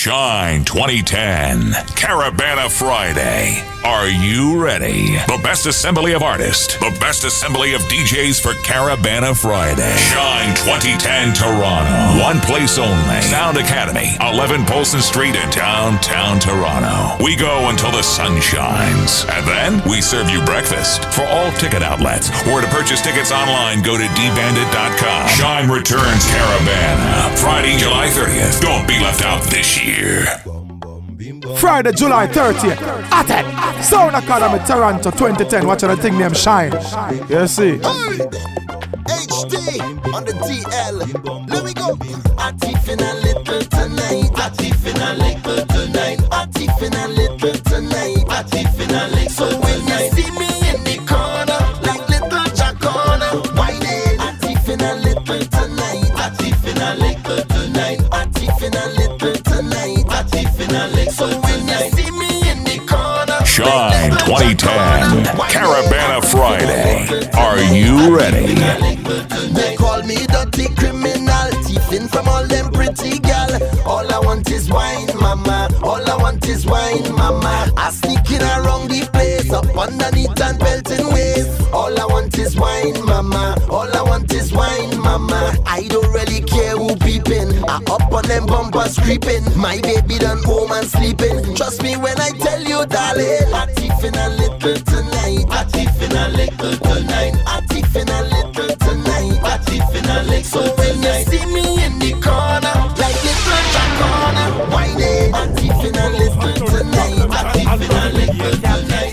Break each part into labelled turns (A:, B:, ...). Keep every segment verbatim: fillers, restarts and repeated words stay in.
A: Shine twenty ten, Caravana Friday. Are you ready? The best assembly of artists, the best assembly of D Js for Caravana Friday. Shine twenty ten Toronto. One place only. Sound Academy, eleven Polson Street in downtown Toronto. We go until the sun shines. And then we serve you breakfast. For all ticket outlets, or to purchase tickets online, go to d bandit dot com. Shine returns Caravana. Friday, July thirtieth. Don't be left out this year.
B: Friday, July thirtieth. At it. Sound Academy, Toronto twenty ten. Watching the thing named Shine. You see?
C: H D on the D L. Let me go. I'm tiffin a little tonight. I'm tiffin a little tonight. I'm tiffin a little tonight. I'm tiffin a little. So when you see me in the corner, like little Jacona, why then? I'm tiffin a little tonight. I'm tiffin a little tonight. I'm tiffin a little tonight. I'm tiffin a little. So when you see me in the corner,
A: Shine twenty ten, Caravana Friday. Are you ready?
C: They call me dirty criminal, thieving from all them pretty gal. All I want is wine, mama. All I want is wine, mama. I sneaking around the place, up underneath and belting ways. All I want is wine, mama. All I want is wine, mama. I don't really care who peeping. I up on them bumpers creeping. My baby done home and sleeping. Trust me when I tell you, darling. I thieving a little tonight. I thieving a little tonight. I thieving a little tonight. I thieving a little. So when you see me in the corner, like little Jacona, why then? I thieving a little tonight. I thieving a little tonight.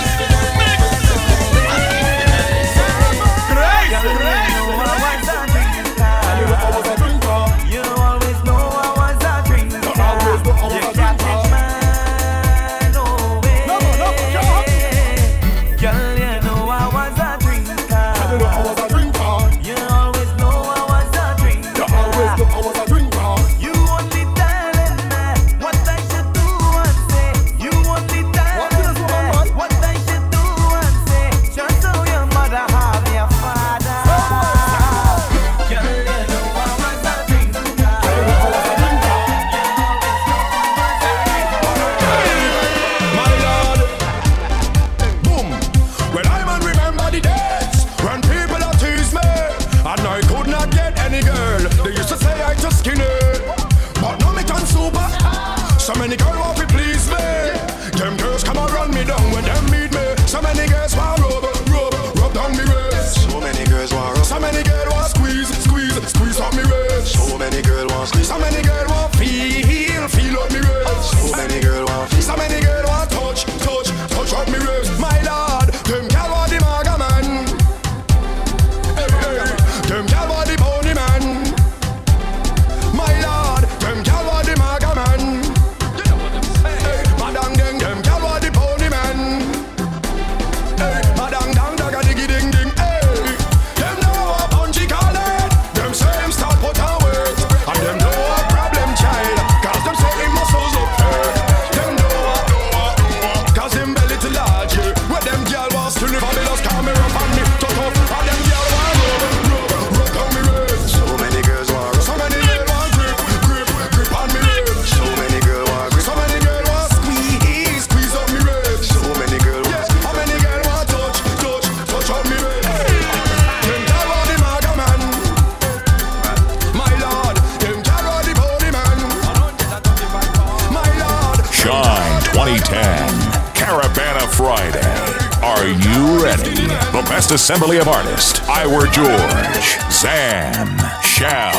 A: Assembly of artists: Iwer George, Zan, Shal,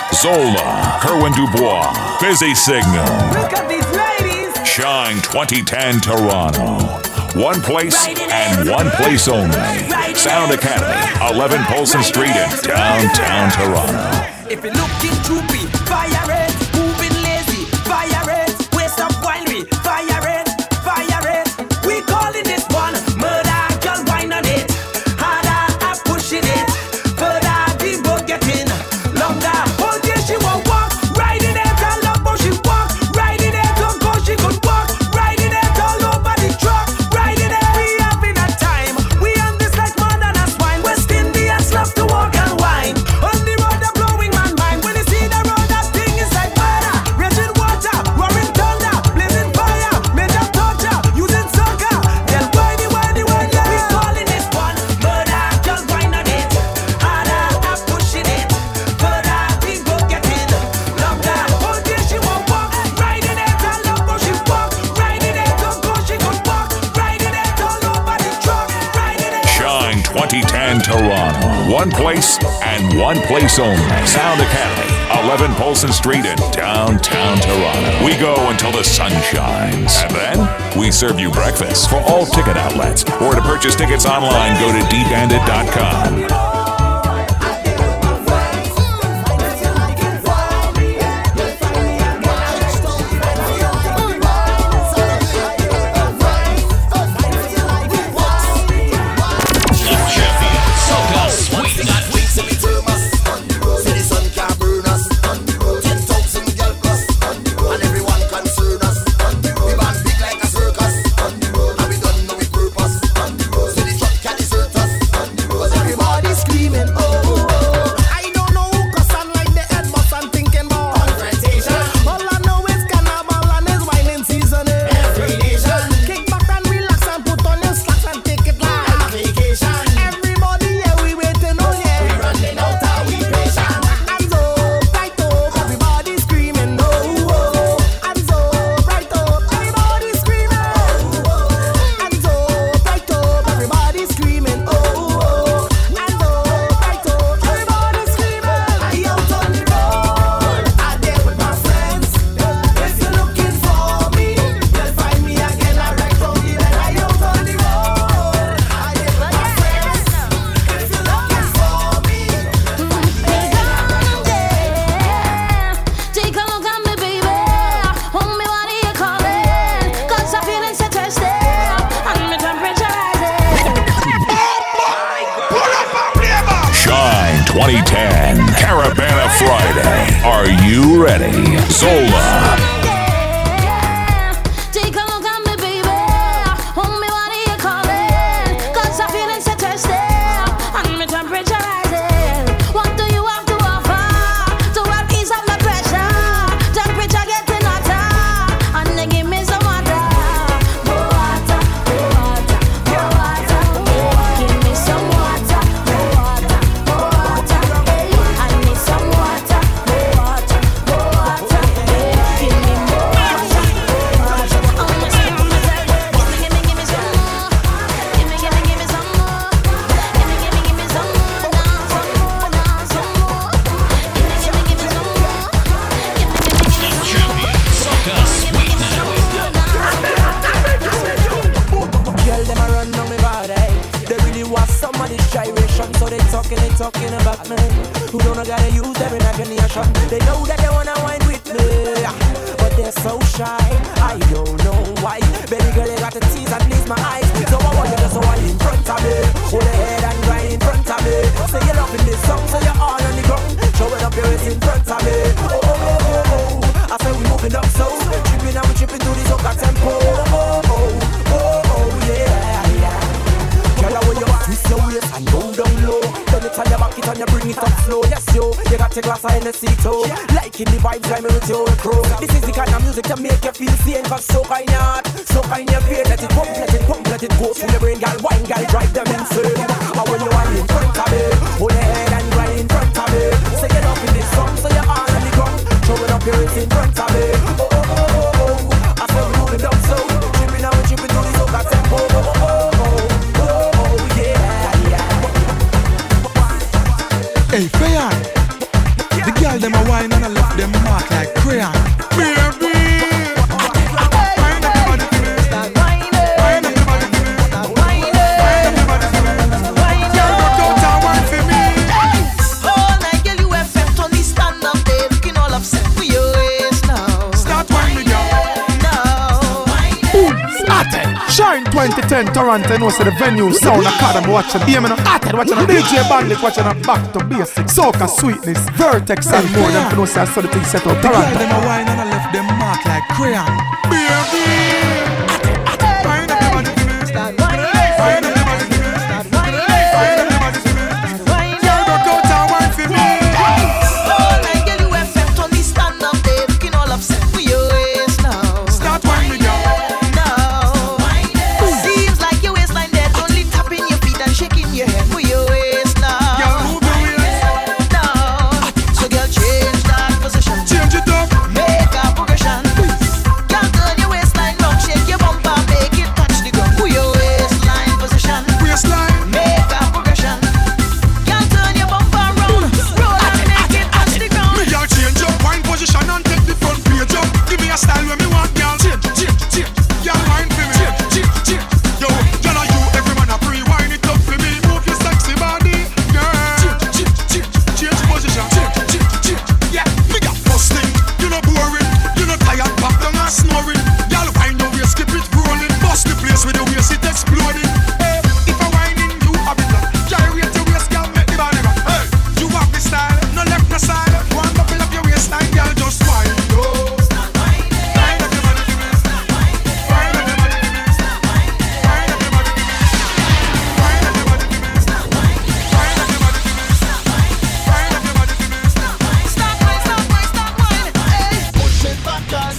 A: Zola, Kerwin Dubois, Busy Signal.
D: Look at these ladies.
A: Shine twenty ten Toronto. One place and one place only. Sound Academy, eleven Polson Street in downtown Toronto.
D: If you're looking droopy, fire it. Moving lazy, fire it. Waste up while we fire it, fire it. We calling this one murder, girl, wine on it. Pushing it further, the road getting longer. Oh yeah, she won't walk right in it. I love how she walk right in it. Don't go, she could walk right in it. All over the truck, right in it. We having a time. We on this like more than a swine. West Indians love to walk and wine. On the road, they're blowing my mind. When you see the road.
A: One place and one place only. Sound Academy, eleven Polson Street in downtown Toronto. We go until the sun shines. And then we serve you breakfast. For all ticket outlets or to purchase tickets online, go to d bandit dot com. twenty ten Carabana Friday. Are you ready? Zola.
E: Talking about me, who don't know gotta use their imagination. They know that they wanna wine with me, but they're so shy. I don't know why. Baby girl, you got to tease and please my eyes. So I want you to so wine in front of me, hold your head and grind in front of me. Say you're loving this song, so you're all on the ground, showing up your waist in front of me. Oh oh oh oh oh, I say we moving up so, tripping and we tripping through this soca tempo. Oh oh oh oh oh yeah yeah. Girl, I want you to twist your waist and go down low. Turn your back it and you bring it up slow. Yes yo, you got your glass of Hennessy too. Liking the vibes, rhyming with your crew. This is the kind of music to make you feel sane. Cause so kind of heart, so kind of fear. Let it pump, let it pump, let it go through your brain. Girl, wine, girl, drive them insane. And when you are in front of me, hold your head and grind in front of me. Say get up in this song, so you're all on the ground, showing up your waist in front of me. Oh oh oh oh oh, I say we moving down so, tripping and we tripping through the soca tempo. Oh oh oh oh oh oh yeah yeah.
B: Hey, Fayan, the girl them a wine and I left them mark like crayon. Baby, wine up your body to me. Wine up your body to me. Wine up your body to me. Girl, rock out and wine for me.
F: All night, girl, you have felt on the stand up there, looking all upset for your waist now.
B: Start wine me, girl.
F: Now,
B: Boom, started. Shine twenty ten Toronto, no say the venue Sound Academy watching. Hear me now, started watching D J Bandit watching a back to basics. Soca sweetness, Vertex and more than for no say I saw the thing set out Toronto. The girl them a wine and I left them mark like crayon. Baby, wine up your body to me. Wine up your body to me. Wine up your body to me. Girl, rock out and wine for me.
F: all night, girl, you have felt on the stand up there, looking all upset for your waist now.
B: Start wine me, girl.
F: Now, seems like your waistline dead, only tapping your feet and shaking your head for your waist now.
B: Girl, move your waist.
F: Now, so girl, change that position.
B: Change it up.
F: Make a progression. Girl, turn your waist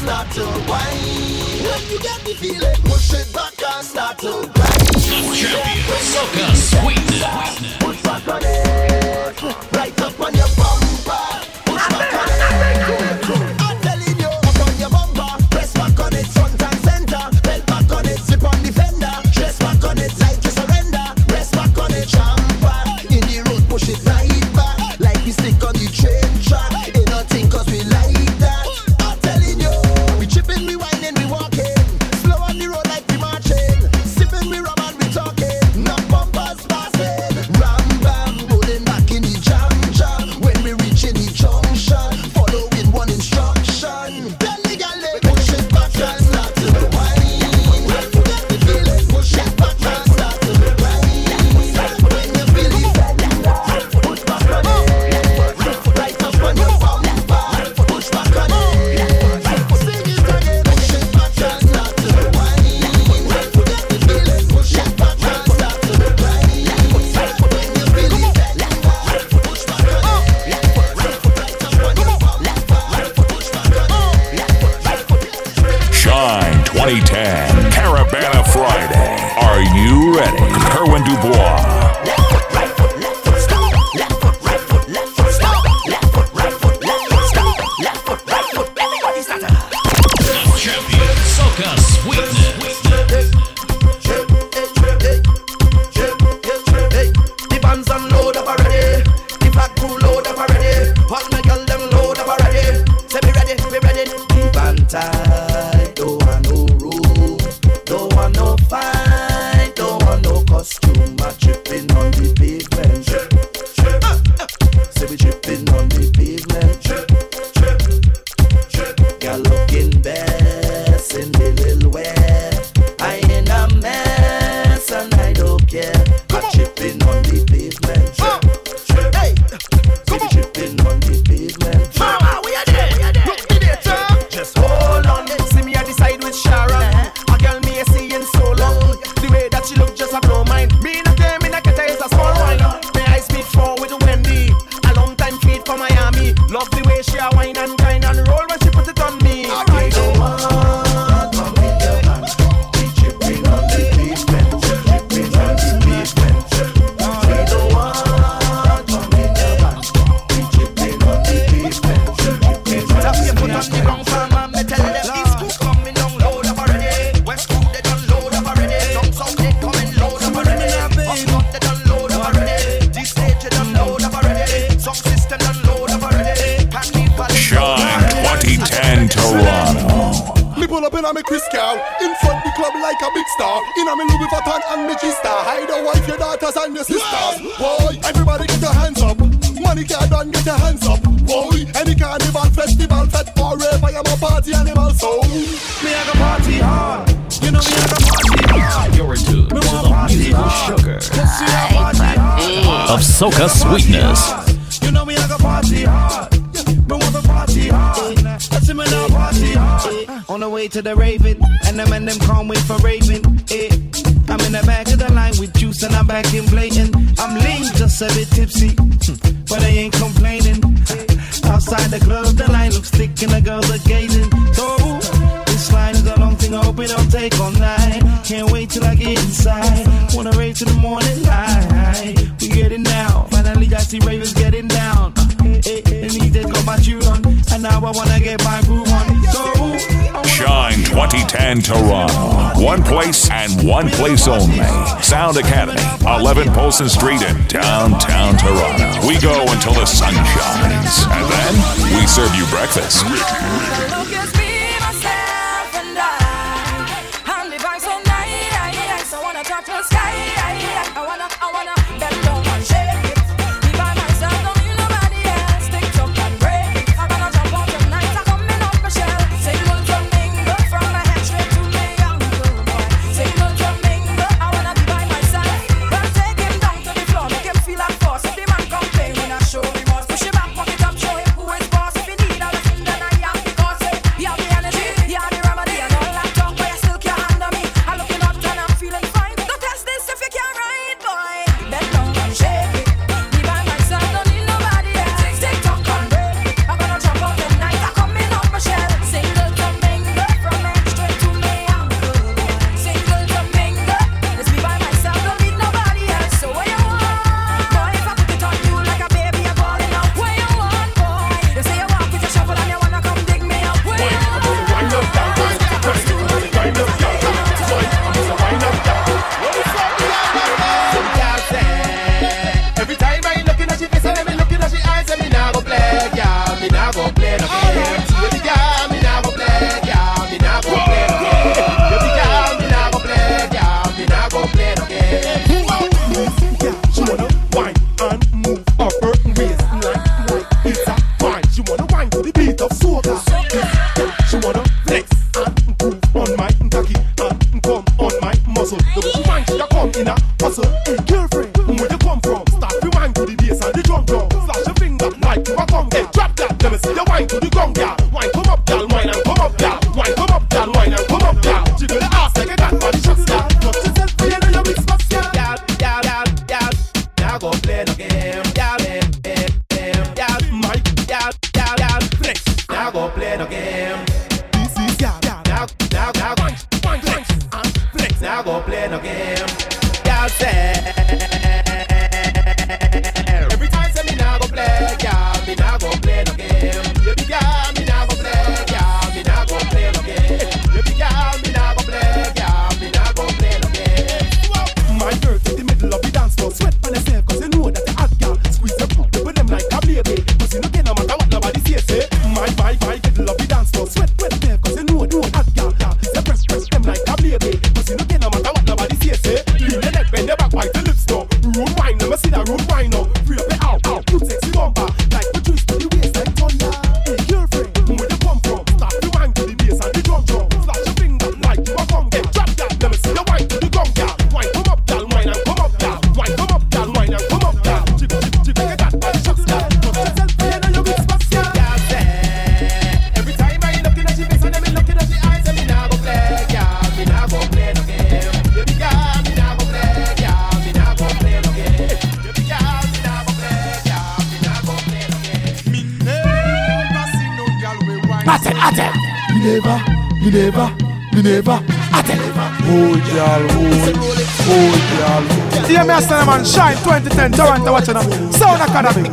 C: start to whine. When you get the feeling, push it back and start to grind.
G: Champion, soca sweetness.
C: Push back on it, right up on your bumper. Push back on it. I'm telling you, up on your bumper. Press back on it, front and center. Belt back on it, zip on the fender. Dress back on it, like you surrender. Rest back on it, champer. In the road, push it right back, like we stick on the train track. Ain't nothing cause we like that. I'm telling you, we chipping, we whining, we walking. Slow on the road like we marching. Sipping, we rum and we talking. No bumpers passing. Ram bam, rolling back in the jam jam. When we reach in the junction, following one instruction. Tell the girl they push it back and start to whine. When you get the feeling, push it back and start to whine. When you feel it, push back on it. Right up on your bumper. Push back on it. Sing it again. Push it back and start to whine. When you get the feeling, push it back and start to whine. When you feel it, push back on it. Right up on your bumper. Push back on it.
A: Shine twenty ten, Caravana Friday. Are you ready? Kerwin Dubois.
G: Champion, soca sweetness.
C: The bands them load up already. The black crew load up already. All my girl them load up already. Say we ready, we ready. The band tight, don't want no room, don't want no fight, don't want no costume. I'm tripping on the pavement. Say we tripping on the pavement. Girl looking best in the little way. I in a mess and I don't care. I'm tripping on the pavement. Hey, say we tripping on the pavement. Mama, we are there. Look me there, sir. Just hold on. See me at the side with Sharon. A girl me a seeing so long. The way that she look just a blow mind. Me in a game in a keta is a small wine. May I speed forward with Wendy. A long time feed for Miami. Love the way she a wine and grind and roll when she put it on me. Alright. Don't want to be your man. We tripping on the pavement. Tripping on the pavement. We don't want to be your man. We tripping on the pavement. Tap your foot on the ground, farmer. Me tell them East Coast coming down load up already. West Coast they done load up already. Down South they coming load up already. Up North they done load up already. This stage they done load up already. Sound system done load up already. Carnival
A: Shine twenty ten, Toronto.
B: Me pull up in a me Chris Cow. In front the club like a big star. In a me Louis Vuitton and me G-Star. Hide your wife, your daughters and your sisters. Boy, everybody get your hands up. Money can't done, get your hands up. Boy, any carnival, festival, fete, or rave, I am a party animal, so me I go party hard. You know me I go party hard.
G: You're in tune to the musical sugar of soca sweetness.
B: You know me I go party hard. Me want to party hard. Let's see me now party hard. On the way to the Raven, and them and them can't wait for Raven. Eh. I'm in the back of the line with juice and I'm back in blatant. I'm lean, just a bit tipsy, but I ain't complaining. Outside the club, the line looks thick and the girls are gazing. So this line is a long thing, I hope it don't take all night. Can't wait till I get inside. Wanna rave to the morning light. We getting down. Finally I see ravers getting down. And he just got my tune on, and now I wanna get my groove on. So
A: Shine twenty ten, Toronto. One place and one place only. Sound Academy, eleven Polson Street in downtown Toronto. We go until the sun shines, and then we serve you breakfast.
H: Show me more, push it back, walk it up, show him who is boss. If you need a lesson, then I am the boss. play no game. Y'all say every time say me nah go play, y'all me nah go play no game. Baby girl, me nah go play, y'all me nah go play no game. Baby girl, me nah go play, y'all me nah go play no game.
B: My girl in the middle of the dance floor, sweat on yourself 'cause you know that the hot girl squeeze your butt with them like a baby. 'Cause you know get no matter what nobody say say. My my my middle of the dance floor, sweat on yourself 'cause you know know hot girl is a press press them like a baby. 'Cause you know get no matter what nobody say say. Lean your neck, bend your back, bite the lips now. Rude wine, let me see that rude wine now. Free up it out, out, you sexy bumper like the twist to the waist like thunder. Hey girlfriend, where you come from? Start the wine to the bass and the drum drum. Flash your finger like you a come get drop that. Let me see your wine to the gong girl. Wine come up, girl, wine and come up, girl. Wine come up, girl, wine and come up, girl. Chip chip chip, make that body shots, girl. Touch yourself, you know you big spots, girl.
H: Y'all say every time I looking at your face and I looking at your eyes, and me nah go play, y'all me nah go play no game. Baby girl, me nah go play, y'all me nah go play no game. Baby girl, me nah go play, y'all me nah go play no game.
B: Me never see no girl with wine.
I: Atten, atten.
B: Me never, me never, me never.
I: Atten.
B: Oh girl, oh, oh girl.
I: Yeah, me a say man, Shine twenty ten, Toronto watching them. Sound Academy.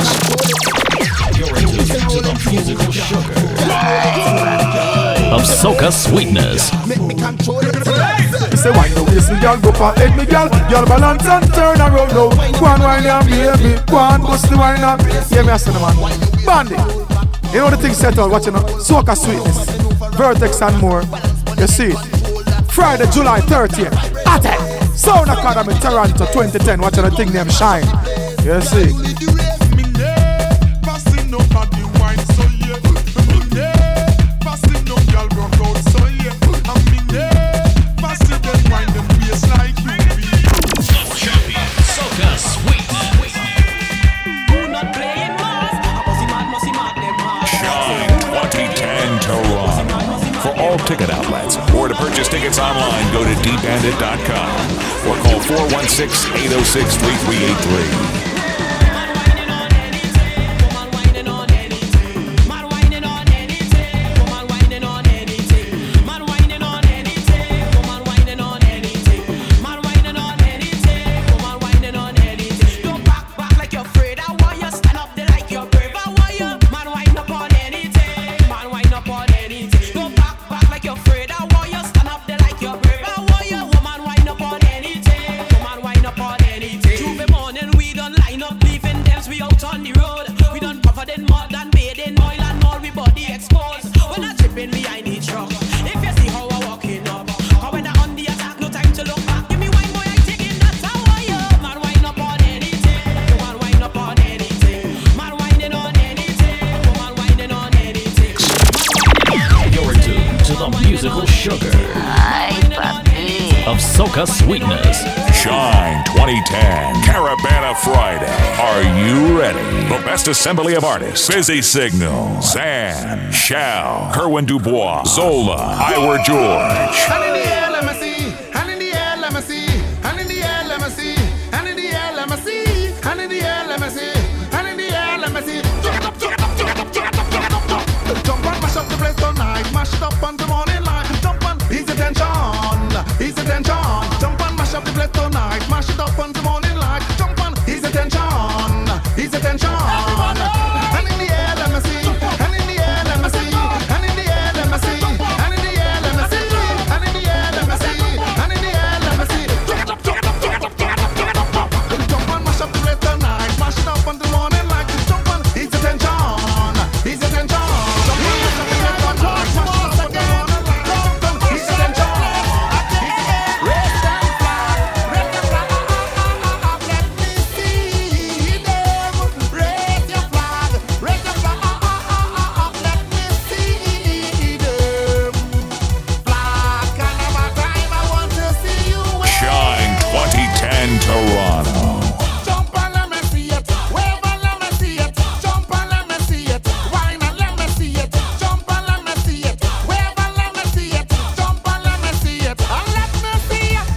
G: Of Soca Sweetness.
B: Make me control it. You say wine the waist, me girl go for head, me girl. Girl balance and turn around now. Go on wine and baby, go on bust the wine up. Yeah, me a say man, Bandy. You know the thing set out watching them. Soca Sweetness, Vertex and more. You see it. Friday, July thirtieth. Attack. Sound Academy, Toronto twenty ten. Watching the thing named Shine. You see.
A: Ticket outlets, or to purchase tickets online, go to d bandit dot com or call four one six, eight oh six, three three eight three.
G: Of Soca Sweetness.
A: Shine twenty ten, Caravana Friday. Are you ready? The best assembly of artists: Busy Signal, Zan, Shao, Kerwin Dubois, Zola, Iwer George.
B: Hand in the air, let me see. Hand in the air, let me see. Hand in the air, let me see. Hand in the air, let me see. Hand in the air, let me see. Hand in the air, let me see. Jump on, mash up the place tonight. Mash it up on the morning light. Jump on, ease the tension, ease the tension. Jump on, mash up the place tonight. Mash it up on the morning light. Jump on, ease the tension, ease the tension. Hand in the air, let me see. Hand in the air, let me see. Hand in the air, let me see. Hand in the air, let me see. Hand in the air, let me see. Hand in the air, let me see. Jump on, mash up the place tonight. Mash it up on the morning light. Jump on, ease the tension, ease the tension. Jump on, mash up the place tonight. Mash it up on the morning light. Jump on, ease the tension. Raise that flag, raise the flag up, let me see them. Raise your flag, raise the flag up, let me see them. Flag, kind of a time I want to see you wave.
A: Shine twenty ten, Toronto.
B: Jump and let me see it, wave and let me see it. Jump and let me see it, wine and let me see it. Jump and let me see it, wave and let me see it. Jump and let me see it, and let me see it.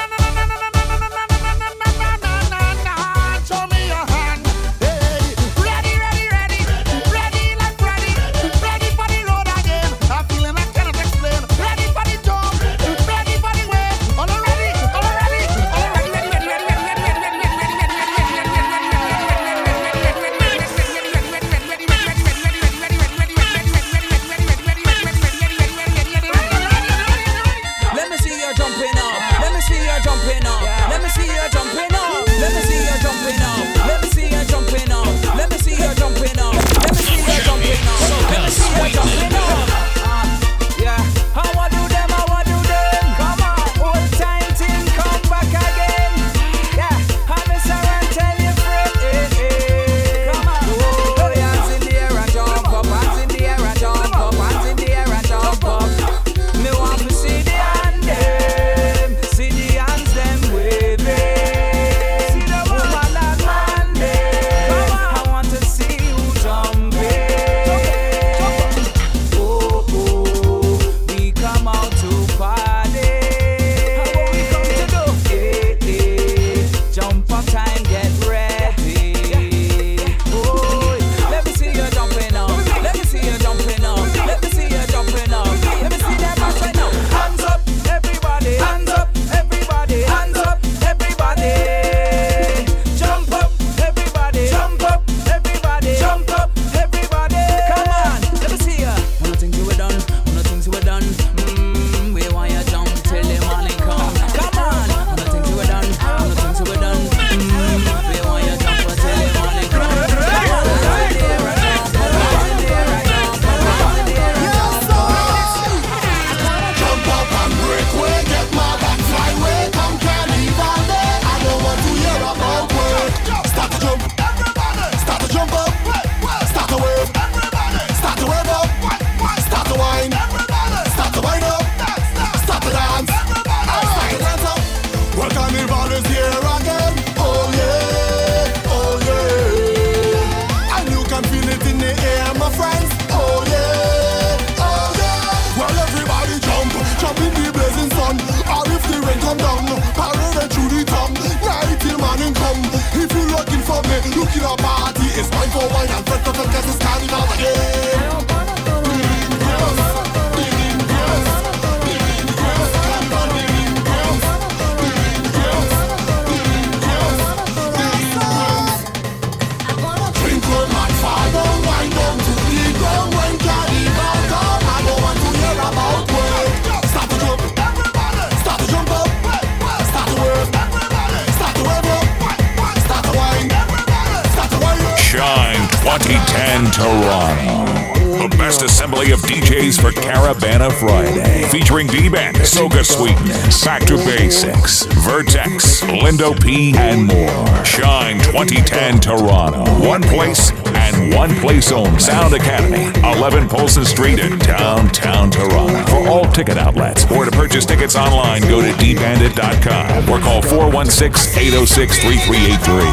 B: Show me your hand. Hey, ready, ready, ready, ready like ready, ready for the road again. I'm feeling I cannot explain. Ready for the jump, ready for the wave. All ready, all ready.
A: twenty ten Toronto. The best assembly of D Js for Caravana Friday. Featuring D-Bandit, Soca Sweetness, Back to Basics, Vertex, Lindo P, and more. Shine twenty ten Toronto. One place and one place only. Sound Academy, eleven Polson Street in downtown Toronto. For all ticket outlets or to purchase tickets online, go to d bandit dot com or call four one six, eight oh six, three three eight three.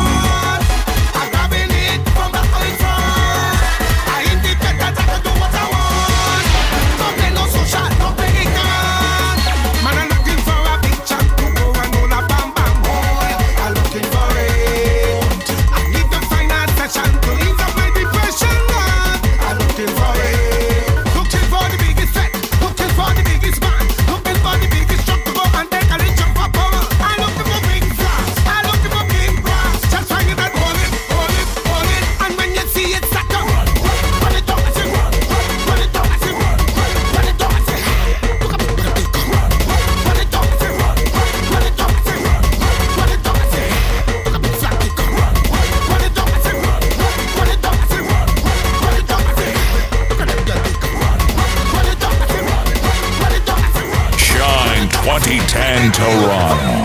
A: twenty ten Toronto.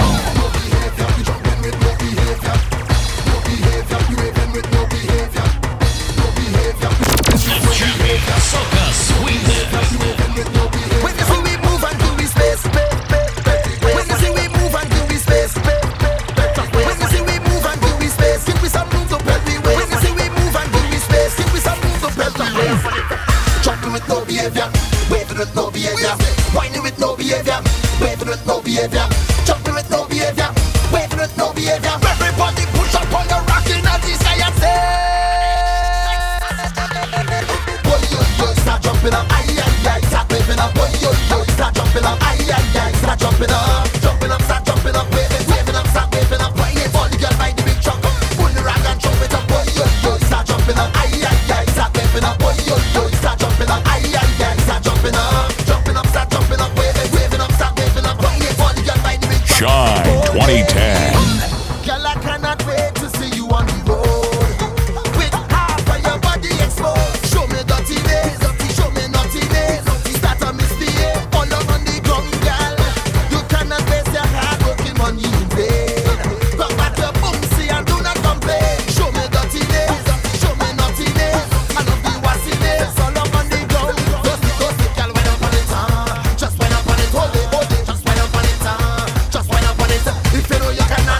G: Soca Sweetness.
C: When you see we move and do we space. When you see we move and do we space. When you see we move and do we space. Give me some room to pelt me way. When you see we move and do we space. Give me some room to pelt me way. Jumping with no behavior, waving with no behavior, whining with no behavior, waving with no behavior, jumping with no behavior, waving with no behavior. Everybody push up on your rocking and the sky and say, boy yo yo, start jumping up, aye aye aye, start waving up, boy yo yo, start jumping up, aye aye aye, start jumping up, jumping up, start jumping up, waving, waving up, start waving up, whining for the girl by the big truck, pull the rag and jump it up, boy yo yo, start jumping up, aye aye aye, start waving up, boy yo yo, start jumping up, aye aye aye, start jumping up, jumping up, start jumping up, waving, waving up, start waving up, whining for the girl by the big truck.
A: Shine twenty ten.
C: Girl, I cannot wait to see you on the road with half of your body exposed. Show me dirty days, show me naughty days. Start a misbehave, all on the ground, girl. You cannot waste your hard working money in vain. Come back your boomsy and do not complain. Show me dirty days, show me naughty days. I love the wassy days, all up on the ground. Just because the girl went up on it, uh. Just went up on it, hold it, hold it. Just went up on it, uh. Just went up on it. If you know you cannot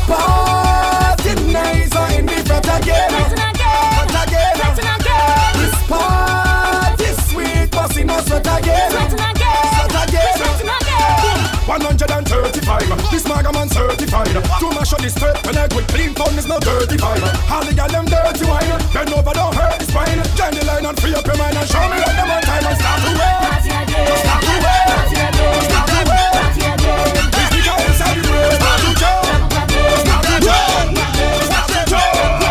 H: party nice in the front again. Front again. This party sweet, busting us sweat again. Sweat again. one hundred thirty-five, this maga man certified. To mash up this straight, when I quit clean phone is no dirty vibe. All the gal them dirty wine, bend over don't hurt the spine. Join the line and free up your mind and show me what them on time and start to wear. Start to wear. Start to wear. This the guy inside the room. Start to jump. Start to jump. Start to jump.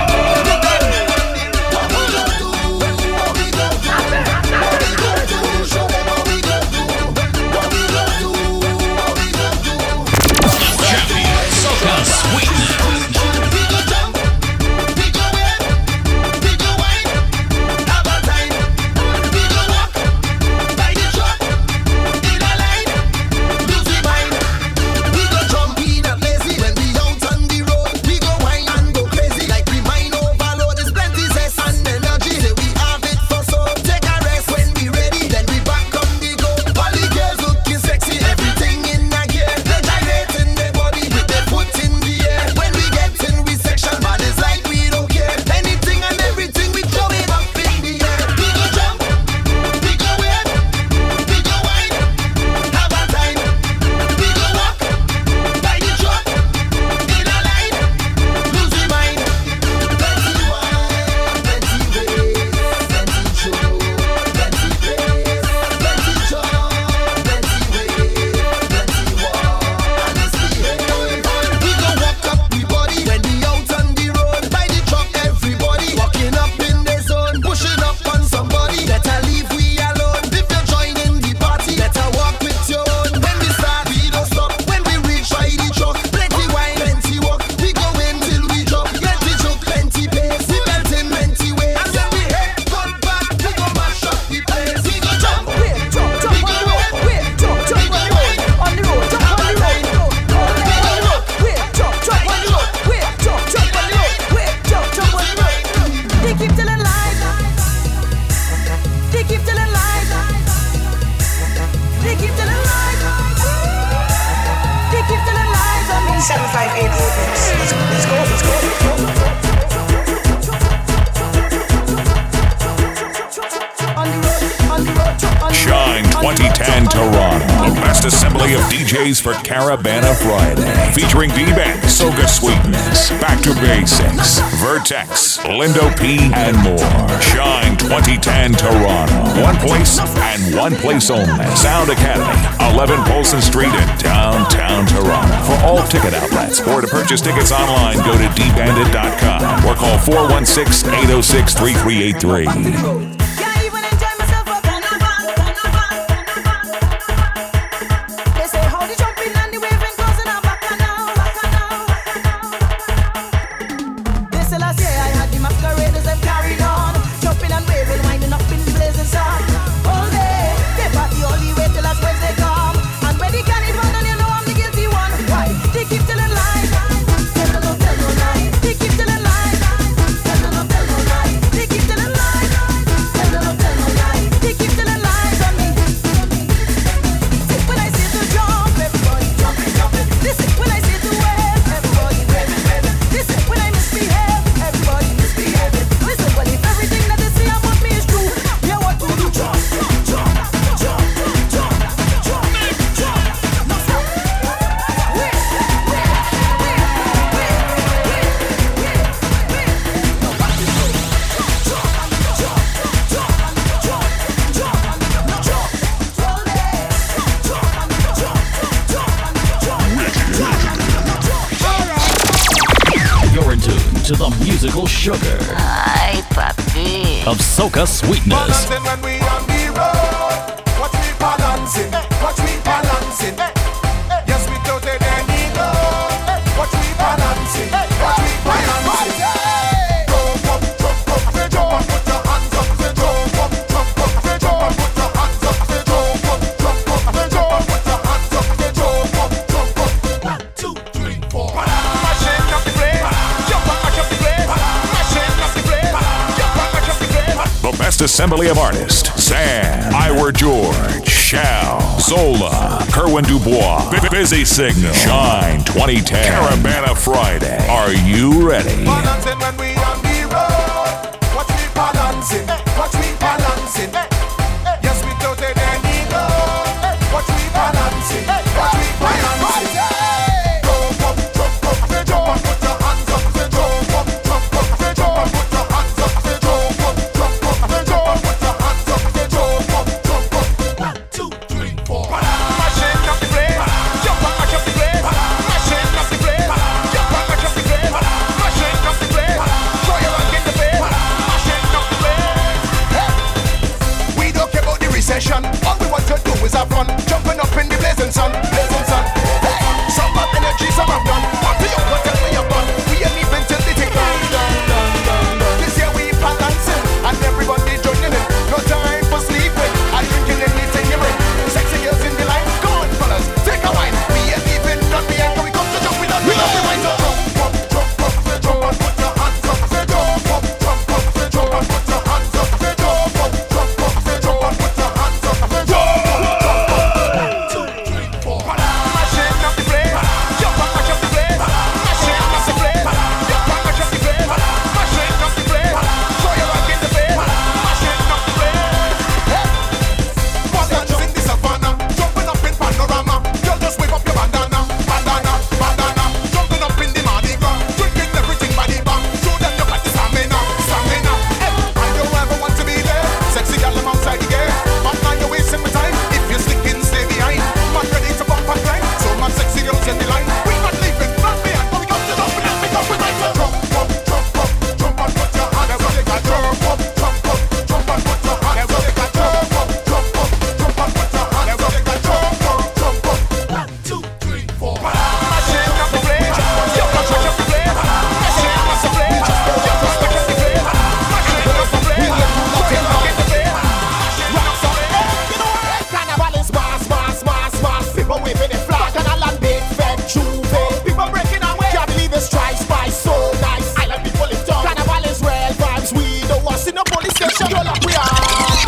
A: For Caravana Friday, featuring D-Band, Soca Sweetness, Back to Basics, Vertex, Lindo P, and more. Shine twenty ten Toronto. One place and one place only. Sound Academy, eleven Polson Street in downtown Toronto. For all ticket outlets or to purchase tickets online, go to d bandit dot com or call four one six, eight oh six, three three eight three.
G: Sugar Ay, papi. Of Soca Sweetness.
H: Balancing when we on the road. Watch me balancing, watch me balancing. Yes, we don't take any load. Watch me balancing, watch me balancing. Jump up, jump up, say jump up, put your hands up, say jump up, jump up, say jump up, put your hands up, say jump up, jump up, say jump up, put your hands up, say jump up, jump up. One, two, three, four. Mashing up the place, jump up, mash up the place.
A: The best assembly of artists, Sam, Iwer George, Chow, Sola, Kerwin Dubois, B- Busy Signal, Shine twenty ten, Caravana Friday. Are you ready?
H: Balancing when we on the road. Watch me balancing, watch me balancing. Yes, we don't take any load. Watch me balancing, watch me balancing. Jump up, jump up, jump up, put your hands up. Jump up, jump up, jump up, put your hands up. Jump up, jump up, jump up, put your hands up. Jump up, jump up. One, two, three, four. Mashing up the place, jump up, mash up the place. Mashing up the place, jump up, mash up the place. Mashing up the place, throw your hand in the face. Mashing up the place. Hey. We don't care about the recession. All we want to do is have fun, jumping up in the blazing sun, blazing sun. Hey. Some of energy, some of none. What do you want? Tell me your fun. We ain't even till the thing done, done, done, done, done. This year we balancing and everybody joining in. No time for sleeping. I'm drinking anything you bring. Sexy girls in the line. Go on, fellas, take a wine. We ain't even done. We ain't going to jump. We done. We done the wine. So jump up, jump up, jump and put your hands up. Jump up, jump up, jump and put your hands up. Jump up, jump up, jump and put your hands up. Jump up, jump up. One, two, three, four. Mashing up the place. Jump and mash up the place. Mashing up the place. Jump and mash up the place. Mashing up the place. Throw your hand in the face. Mashing up the place. Hey. Balancing in the savannah, jumping up in panorama. Girl, just wave up your bandana, bandana, bandana. Jumping up in the Mardi Gras, drinking everything by the bar. Show them you got the stamina, stamina. Hey, I don't ever want to be there. Sexy girl, I'm outside the game. But now you're wasting my time. If you're sticking, stay behind. Man ready to bump and climb. So my sexy girls in the line. We not leaving, not behind. But we got to jump and we got to right. Jump up, jump up, jump and put your hands up. Jump up, jump up, jump and put your hands up. Jump up, jump up, jump and put your hands up. Jump up, jump up. One, two, three, four. Mashing up the place. Jump and mash up the place. Mashing up the place. Jump and mash up the place. Mashing up the place. Throw your hand in the face. Rocks on it. You know what? Carnival is mass, mass, mass, mass. People waving the flag and a land big fed Juve. People breaking away. Can't believe it's Tri Spice, so nice. Island people live down. Carnival is real vibes. We don't want to see no police station. You're like we are.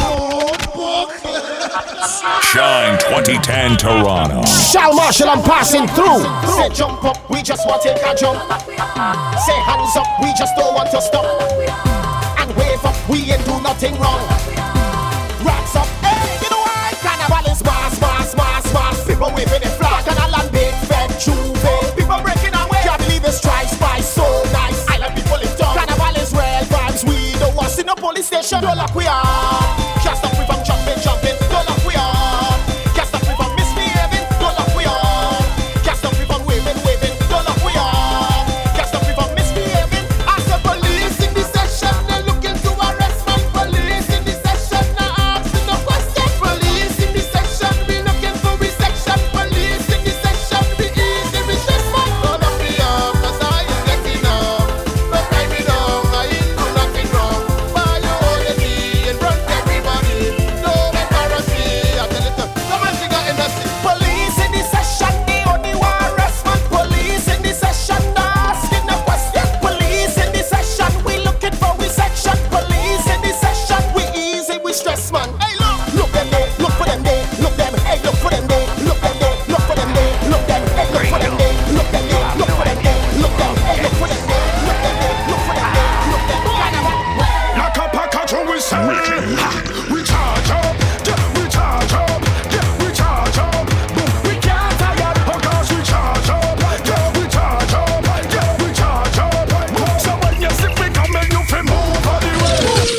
A: Shine twenty ten Toronto.
C: Shall Marshall, I'm passing through. Say jump up, we just want to take a jump. Say hands up, we just don't want to stop. And wave up, we ain't do nothing wrong. Rocks up, hey, you know why? Carnival is mass, mass, mass, mass. People waving the flag and a land big fed Juve. People breaking away. Can't believe it's Tri Spice, so nice. Island people live down. Carnival is real vibes. We don't want to see no police station. Don't lock we are. Can't stop me from jumping, jumping. Don't lock we are. Can't stop me from misbehaving. Don't lock we are. Can't stop me from waving, waving. Don't lock we are. Can't stop me from misbehaving. As the police in the session, they're looking to arrest man. Police in the session, now asking no question. Police in the session, we looking for resection. Police in the session, we easy we stress man. Don't lock me up, 'cause I ain't getting up. Don't tie me down, I ain't do nothing wrong. Why you holding me in front of everybody? Don't embarrass me, I tell it to come on, she got in the city. Police in the session, they only want arrest man. Police in the session, not asking no question. Police in the session, we looking for we section. Police in the session, we easy, we stress man. Hey look, look them there, look for them there, look them, hey look for them there, look them there, look for them there, look them, hey look for them there, look them there, look for them there, look them, hey look for them there, look them there, look for them there, look them.
H: Like a package we sell. We charge up, yeah, we charge up, yeah, we charge up. Boom, we can't tire, oh gosh, we charge up, yeah, we charge up, yeah, we charge up. Boom, so when you see we coming, you feel move all the way.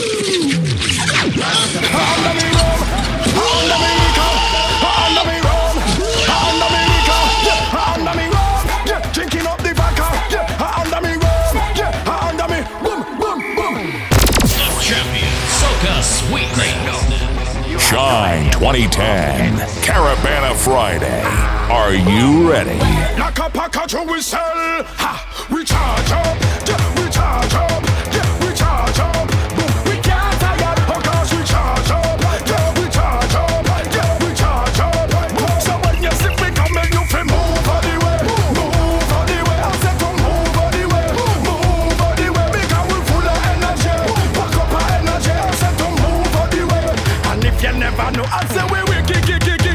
H: Under me rum, under me liquor, under me rum, under me liquor, yeah, under me rum, yeah, drinking up the vodka, yeah, under me rum, yeah, under me, boom, boom, boom.
G: Champion Soca Sweetness.
A: Shine twenty ten, Caravana Friday. Are you ready?
H: Like a package we sell, ha, we charge up, yeah, we charge up, yeah, we charge up. Boom, we can't tire, oh gosh, we charge up, yeah, we charge up, yeah, we charge up. Boom, so when you see we coming, you feel move all the way, move all the way. I said to move all the way, move all the way. Because we full of energy, pack up our energy. I said to move all the way, and if you never know, I say we we kick, kick, kick.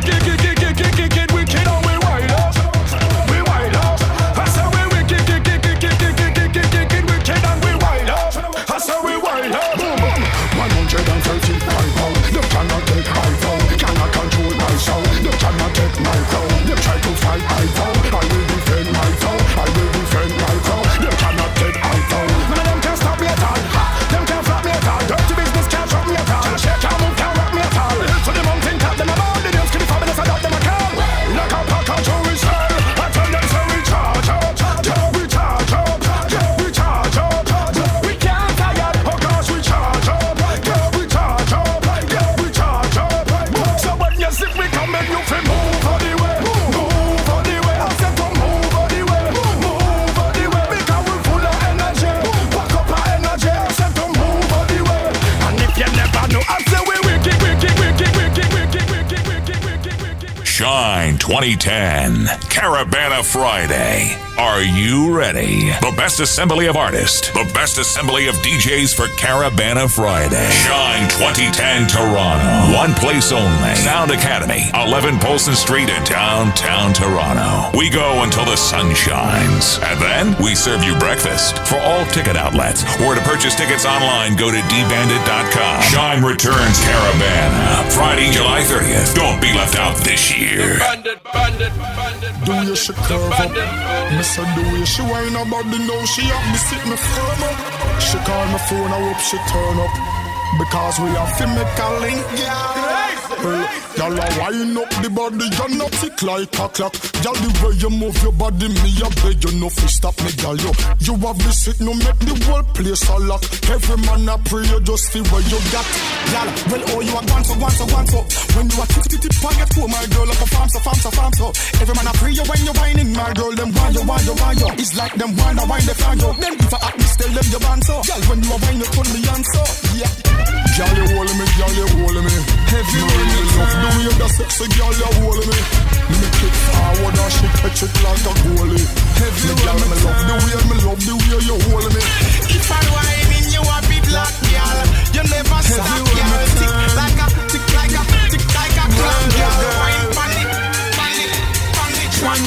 A: twenty ten, Caravana Friday. Are you ready? The best assembly of artists, the best assembly of D Js for Caravana Friday. Shine twenty ten Toronto. One place only. Sound Academy, eleven Polson Street in downtown Toronto. We go until the sun shines. And then we serve you breakfast. For all ticket outlets or to purchase tickets online, go to d bandit dot com. Shine returns Caravana. Friday, July thirtieth. Don't be left out this year.
H: Bandit, bandit, bandit.
J: Do you she curve up? Me say do you she whine about the know she up? Me sit me firm up. She call my phone, I hope she turn up. Because we have to make a link, yeah. Y'all are wind up the body, you're not tick like a clock. Y'all the way you move your body, me a beg you no fi stop me, y'all. You, you have this it, no make the whole place a lock. Every man a pray, you just feel what you got. Y'all, well, oh, you are gone so, gone so, gone so. When you are tip, tip, tip, pocket, oh, my girl, like a farm, so, farm, so, farm, so. Every man a pray you when you whining, my girl, them want you, want you, want you. It's like them want to wine, they find you. Then if I act me, tell them you want so. Y'all, when you are whining, you turn me on so, yeah. Girl, you hold me, girl, you hold me. Heavy man, you love the way that sexy girl, you hold me. Make it forward and she catch it like a goalie. Heavy girl, me love the way, me love the way you hold me.
K: If I'm whining, you a big black girl. You never stop, girl. Tick like a, tick like a, tick like a clock, girl. Wine, panic, panic, panic, one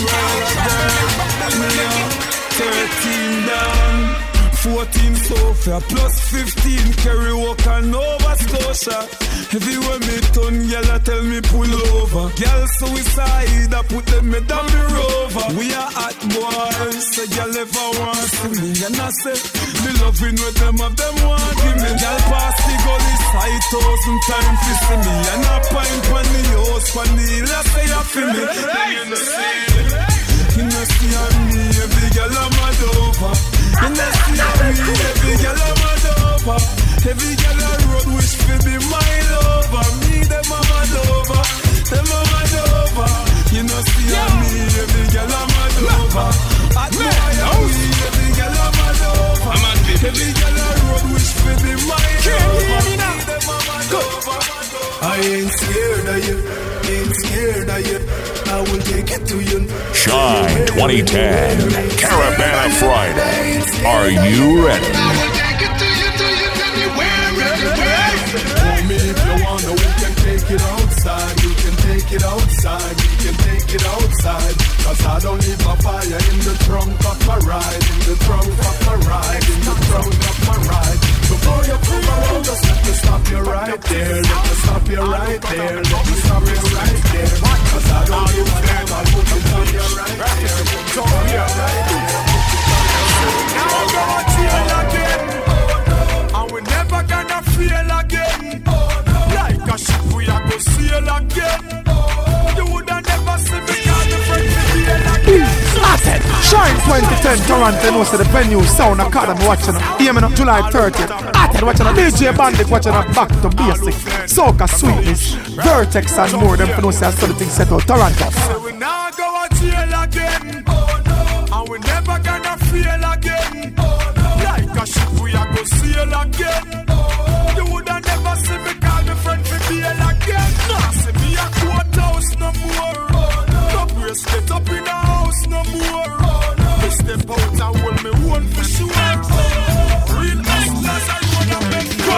K: girl.
L: Thirteen down. fourteen Sofia plus fifteen Kerry Walker Nova Scotia. Everywhere me turn, girl a tell me pull over. Girl suicide, I put them me down the rover. We are hot boys, so girl ever want to see me. And I say, me loving with them of them want give me. Girl pass the gully five thousand times to see me. And I pint on the house, on the hill, I say I feel me. You know see, you know see on me, every girl I'm mad over. You know see on me, every girl I'm mad over. Every girl I road wish for be my lover. Me them I'm mad over, them I'm mad over. You know see on me, every girl I'm mad over. At me and we, every girl I'm mad over. Every girl I road wish for be my lover. Me them I'm mad over. I ain't scared of you, ain't scared of you. I will take it to you.
A: Shine twenty ten, Caravana Friday. Are you ready?
K: I will take it to you, to you, anywhere, anywhere.
J: For me, if you wanna, we can take it outside. We can take it outside. We can take it outside. Cause I don't leave my fire in the trunk of my ride. In the trunk of my ride. In the trunk of my ride. Before you come around, just let me stop you right there. Let me stop you right there. Let me stop you right there. Cause I don't give a damn. I'll put it on you right there. Put it on you right there.
L: Now I'm gonna feel again. And we never gonna feel again. Like a ship we are gonna sail again. You woulda never see me call the friend to feel again.
B: Started. Shine twenty ten Toronto, knows the venue Sound Academy watching. Hear me now, July thirtieth. Started watching a D J Bandit watching a Back to Basic, Soca Sweetness, Vertex and more. Them for no say I saw the thing set out Toronto.
L: So we now go a jail again. And we never gonna feel again. Like a ship we are gonna sail again. You woulda never see me call me friend for bail again. Nah, see me a courthouse no more. No bracelet up in the house no more. Me step out and hold me one for sure. Real hustlers I wanna make go.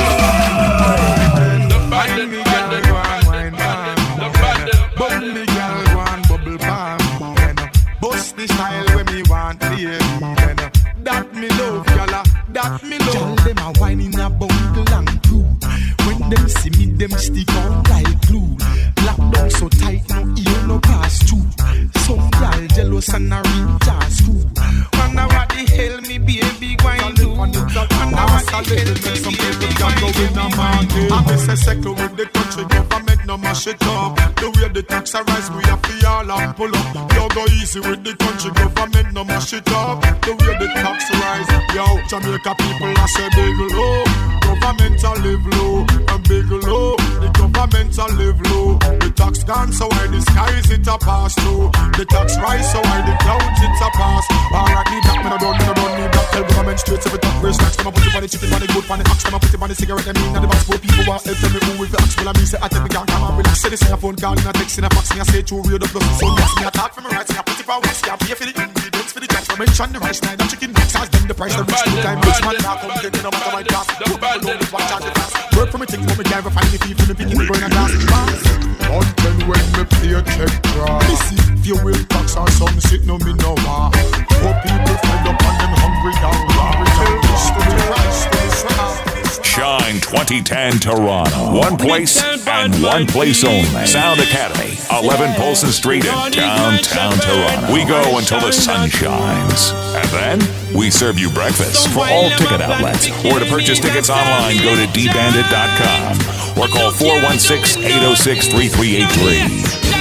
L: The bandit, the bandit, the bandit, bubble the girl one bubble palm. Bust the style when me want play. That me love, y'all. That me love. Y'all them a wine in a bundle and crew. When them see me, them stick on like glue. Lock down so tight, no ear, no pass through. Some y'all jealous and a reach a screw. Wonder what the hell me baby going do. Wonder what the hell me baby going do.
J: I miss a second with the country government, no mash it up. The way the tax rise, we have to all and pull up. You go easy with the country government, no mash it up. The way the tax rise, yo, Jamaica people I say big low. Government a live low, and big low. The government a live low. The tax gone, so why the skies it a pass through. The tax rise, so why the clouds it a pass. Alright, need that, me no don't, me no don't need that. Tell government French straight every top race snacks. Them a put it on the chicken, on the good, on the ox. Them a put it on the cigarette. Them in the box. Poor people want help. Tell me who with the ox. Well I mean say I tell me can't come and relax. Say this in a phone call, in a text, in a fax. Me I say true real the plus the sun. Yes, me I talk for me rights. Me I put it for West. Me I pay for the ingredients for the tax. I mention the rice, nine, the chicken mix. As them the price. The rich two time rich man now come get me no matter my class. Poor people know this one charge the class. Work for me things, but me can't find the people. Me picking the brain and glass.
L: On ten when me pay a check draw.
J: Missy, if you will tax or some shit, no me no war. Poor people fed up and them hungry down. Return this to the Christ, to the Son.
A: Shine twenty ten Toronto. One place and one place only. Sound Academy, eleven Polson Street in downtown Toronto. We go until the sun shines. And then we serve you breakfast for all ticket outlets. Or to purchase tickets online, go to d bandit dot com or call four one six, eight oh six, three three eight three.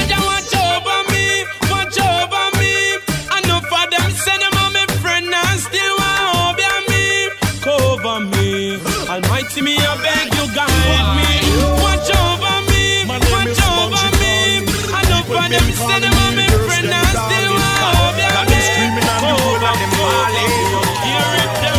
M: Almighty me, I beg you guide me. Watch over me, watch over me. I know for them say them are my friend and still love ya. Got them screaming on the road like them falling. Hear it, them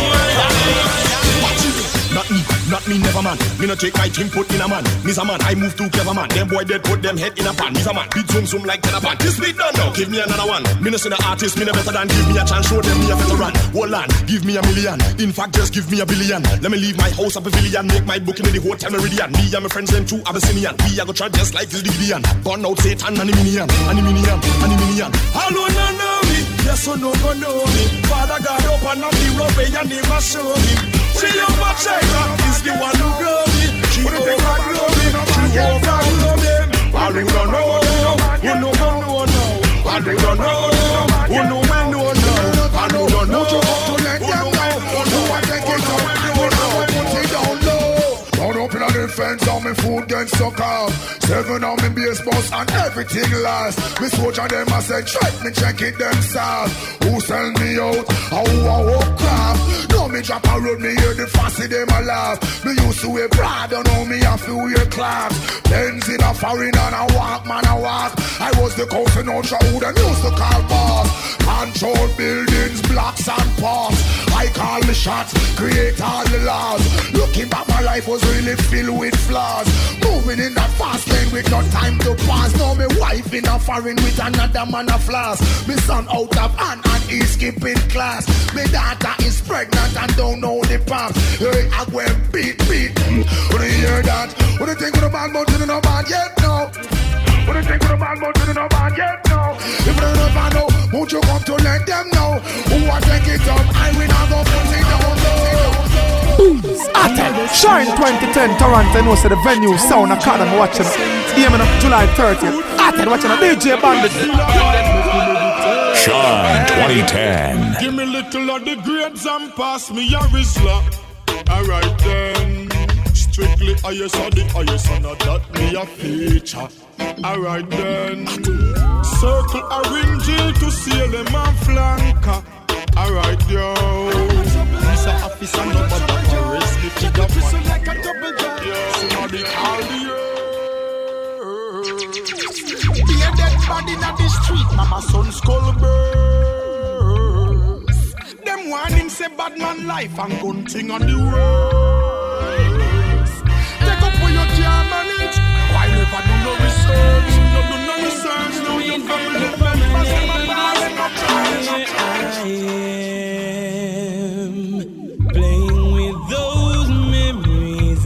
N: Not me, not me, never man. Me no take my team put in a man. Me's a man, I move too clever man. Them boy dead put them head in a pan. Me's a man, beat zoom zoom like ten a pan. This beat done now, give me another one. Me no see the artist, me no better than give me a chance. Show them me a veteran. Hold on, give me a million. In fact, just give me a billion. Let me leave my house a pavilion. Make my booking in the hotel Meridian. Me and my friends them two Abyssinian. We a go try just like this Gideon. Burn out Satan and the minion, and the minion, and the minion. Hello, no know me. Yes or no go know me. Father God open up the rope and your name a show me. See you my China is the one who grow me. She overgrow me. She overgrow me. I don't know. You know I know now. I don't know. You know I know now. I don't know.
L: To let them know. Who I take it up. Who I put it down low. Run up in a defense on me food get suck off. Seven on me base boss and everything last. Me soldier them I said check me check it themselves. Who sell me out? How I walk craft. No me drop a road me hear the fussy them a laugh. Me used to wear Prada, don't know me have to wear claps. Benz in a foreign and I walk man I walk. I was the coach in Ultra who them used to call boss. Control buildings, blocks and parks. I call the shots, create all the laws. Looking back my life was really filled with flaws. Moving in that fast lane with no time to pass. Now me wife in a foreign with another man a flash. Me son out of hand and he's skipping class. Me daughter is pregnant and don't know the path. Hey, I go and beat, beat. When you hear that, what do you think of the bad mountain in a bad yet now? What do you think of the bad mountain in a bad yet now? If they don't know, won't you come to let them know? Who I take it up, I will not go put it down low.
B: Atten, Shine twenty ten Toronto, no say the venue, Sound Academy watching. Aiming up July thirtieth. Atten watching a D J Bandit.
A: Shine twenty ten.
L: Give me little of the grades and pass me a Rizla. Alright then. Strictly highest of the highest and that me a feature. Alright then. Circle a ring jail to seal them and flanker. Alright yo. He's a officer no matter for risk it to the man. Like a double jump. Somebody call the earth. Be a dead body in the street. Mama son skull burst. Them warning say bad man life and gun thing on the road. Take up where you can't manage. Why never do no research? No do no research. No you family members and my ball and no charge.
M: I am playing with those memories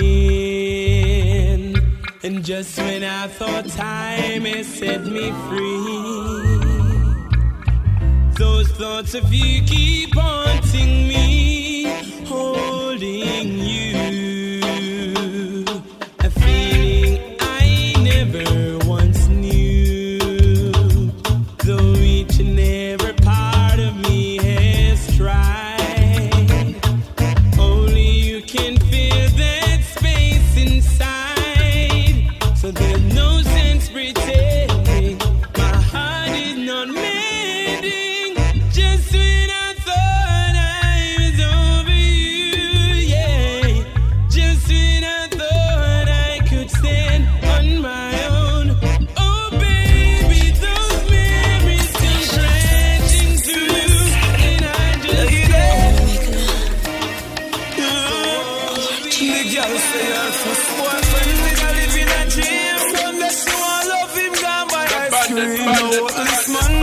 M: again. And just when I thought time had set me free, those thoughts of you keep haunting me, holding you, a feeling I never once knew, though each and every part of me has tried. Only you can fill that space inside, so there's no sense pretending my heart is not mending. Just when I thought I was over you, yeah. Just when I thought I could stand on my own. Oh baby, those memories still crashing through, and I just can't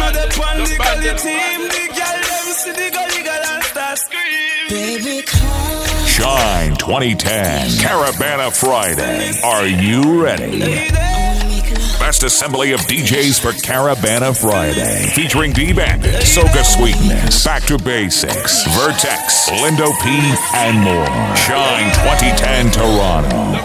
L: of the pan, the gully team. The girl them see the gully girl and start scream. Baby, come.
A: Shine twenty ten, Caravana Friday. Are you ready? Best assembly of D Js for Caravana Friday. Featuring D-Bandit, Soca Sweetness, Back to Basics, Vertex, Lindo P, and more. Shine twenty ten Toronto.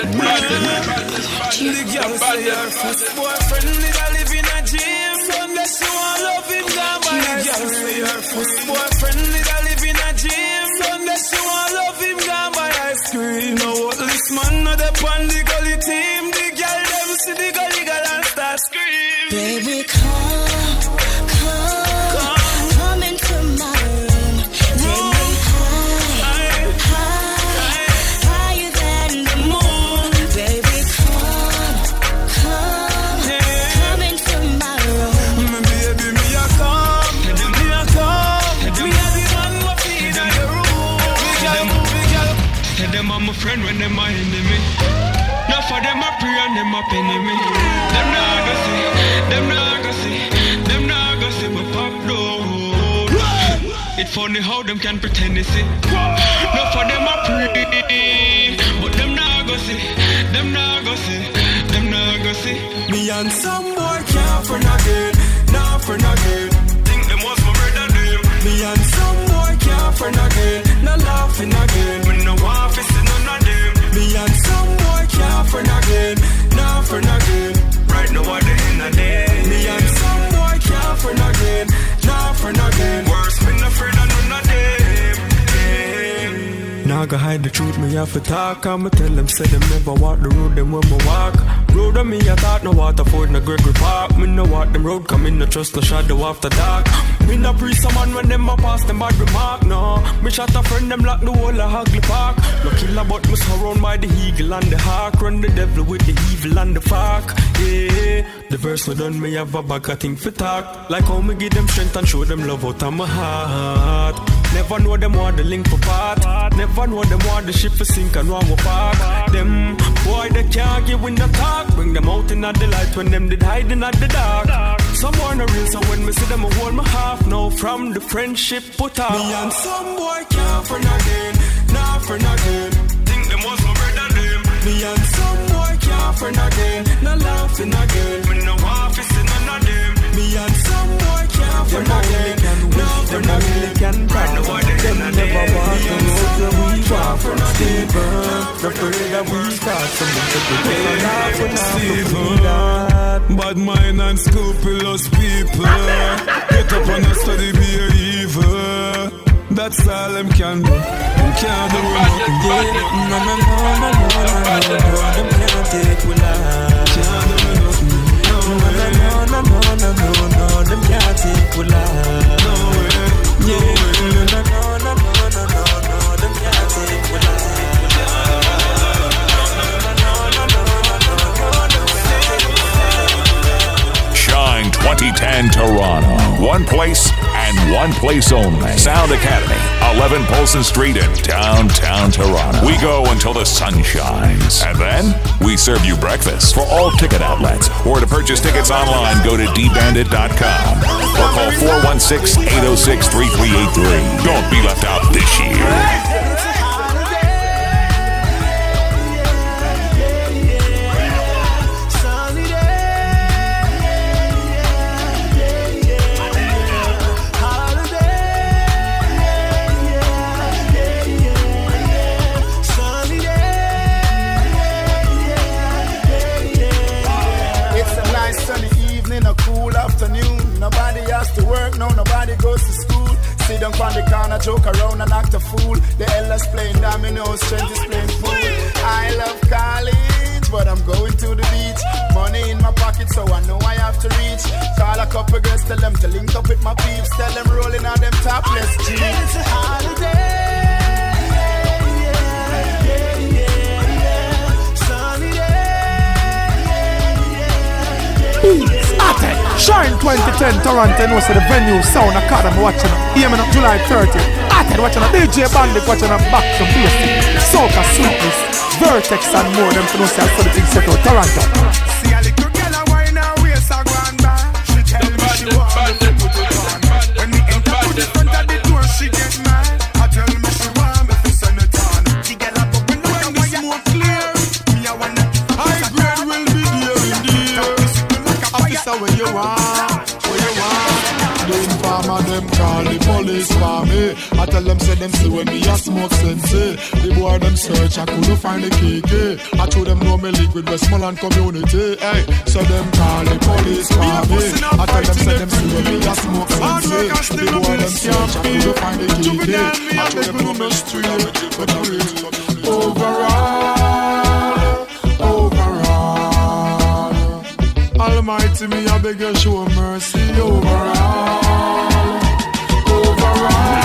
L: You know what, this man not the pan, the gully team. The girl them see the gully girl and start scream.
O: Baby, come, come, come, come into my room. Take me high, high, higher than the moon. Baby, come, come, come into my room.
L: Baby, me a come, me a come. Me a the man who feed in your room. Big girl, big girl.
P: Tell them I'm a friend when them my enemy. Now for them I pray and them a penny me. Them nah go see, them nah go see, them nah go see we pop road. It funny how them can pretend they see. Now for them I pray, but them nah go see, them nah go see, them nah go see.
L: Me and some boy can't friend again, nah friend again.
P: Think them was my brother them.
L: Me and some boy can't friend again, nah laughing again.
P: Me no want to see none of them.
L: Me and some boy can't friend again, nah friend again.
P: Right now what they in a day.
L: Me and some boy can't friend again, nah friend again.
P: Worse me no friend and none of them.
L: Now go hide the truth, me have to talk. I'ma tell them, say them never walk the road, them when me walk. Road on me, I thought no water for no Gregory Park. Me no walk them road, come in no trust no shadow after dark. Me no pre someone when them a pass them bad remark, no. Me shot a friend, them lock the whole of Hagley Park. No killer but me surround by the eagle and the hawk. Run the devil with the evil and the fuck. Yeah, the verse we done, me have a bag of thing for talk. Like how me give them strength and show them love out of my heart. Never know them want the link for part. Never know them want the ship for sink and one more park. Them boy they can't give in the talk. Bring them out in the light when them did hiding at the dark. Some more no real, so when me see them I hold my half. Now from the friendship put out. Me and some boy can't friend again, nah friend again.
P: Think them was my brother them.
L: Me and some boy can't friend again, nah laughing again.
P: Me no want to see none of them.
L: Me and some boy can't friend again, nah friend again.
P: Right now what they in a day.
L: Never walk the road that we walk from Stephen. The prayer that we start from the bad mind and scrupulous people. Get up and study be evil. That's all them can do. Them can't do nothing. No, no, no, no, no, no, no, no. Them can't take we life. Can't do nothing. No way. No, no, no, no, no, no. Them can't take we life. No way. Yeah. No, no, no, no, no, no, no. Them can't take we life.
A: Shine twenty ten Toronto. One place and one place only. Sound Academy, eleven Polson Street in downtown Toronto. We go until the sun shines. And then we serve you breakfast for all ticket outlets. Or to purchase tickets online, go to d bandit dot com or call four one six, eight oh six, three three eight three. Don't be left out this year.
B: To work, no, nobody goes to school. Sit down on the corner, joke around and act a fool. The elders playing dominoes, strength is playing fool. I love college, but I'm going to the beach. Money in my pocket, so I know I have to reach. Call a couple girls, tell them to link up with my peeps. Tell them rolling on them topless jeans. It's a holiday.
I: Shine twenty ten Toronto, no say the venue Sound Academy watching up. Hear me now, July thirtieth. Atted watching up, D J Bandit watching up, Back to Basics, Soca Sweetness, Vertex and more. Them to know say I saw the thing set out Toronto.
H: See a little girl a wine her waist a go and back. She tell me she want the
J: them call the police for me. I tell them say them see when me a smoke sense. The boy them search, I couldn't find the K K. I told them no me link with Westmoreland community. Hey, so them call the police for me. I tell them say them see when me a smoke sense. The boy them search, I couldn't find the K K. I told them no me street, but I real. Overall, overall, Almighty me I beg you show mercy. Overall, overall.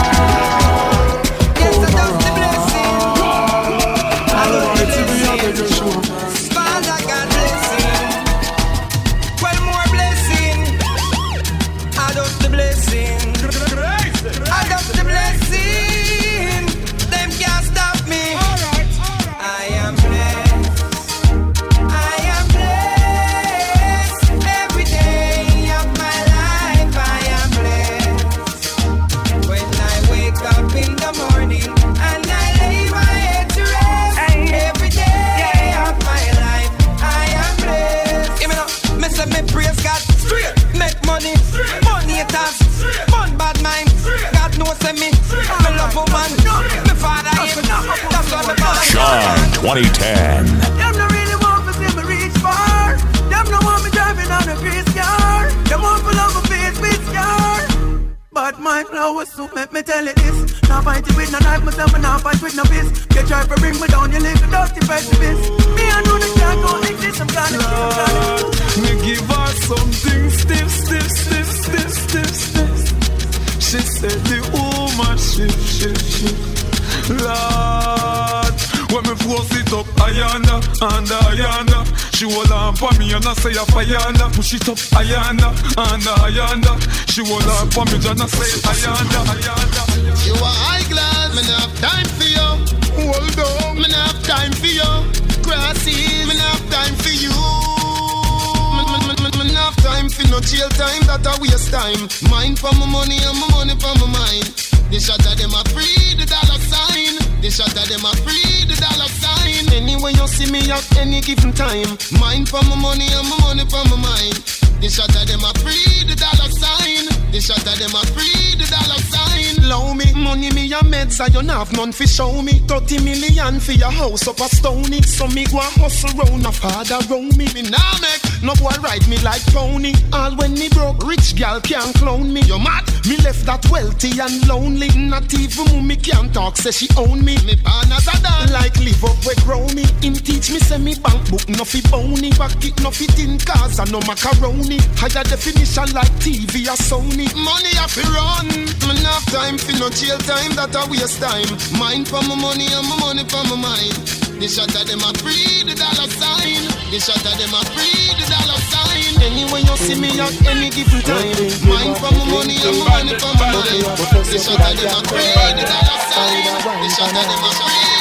A: Shine twenty ten.
E: Them no really want to see me reach far. Them no want me driving on a grease car. Them want to love my face with scar. But my flowers suit make me tell you this. Now fight it with no knife, myself and now fight with no fist. You try to bring me down, you live a dirty precipice. Me I know the can't go exist, I'm gonna kill you.
L: Me give her something stiff, stiff, stiff, stiff, stiff, stiff. She said the woman shift, shift, shift. Lord, when me force it up, ayanda, anda, ayanda. She hold on for me and I say a ayanda. Push it up, ayanda, anda, ayanda. She hold on for me and I say ayanda, ayanda.
K: You are high class, me not have time for you. Hold on, me not have time for you. Crossing, me not have time for you. Me not have time for no jail time, that a waste time. Mine for my money and my money for my mind. The shot of them a free the dollar sign. The shot of them a free the dollar sign. Anyway you see me at any given time. Mine for my money and my money for my mind. The shot of them a free the dollar sign. The shot of them a free the dollar sign. Low me, money me a meds I don't have none fi show me. Thirty million for your house up a stony. So me go a hustle round a father round me. Me nah make no boy ride me like pony. All when me broke, rich gal can't clone me. You mad? Me left that wealthy and lonely. Not even mommy can't talk, say she own me. Me partners are done like live up where grow me. Him teach me say me bank book no fi bony. Back it no fit in cars and no macaroni. Higher definition like T V or Sony. Money I fi run. Me not have time fi no jail time, that a waste time. Mine for my money and my money for my mind. The shot of them a free the dollar sign. The shot of them a free the dollar sign. Anyway you see me at any given time. Mine for my money and my money for my mind. The shot of them a free the dollar sign. The shot of them a free.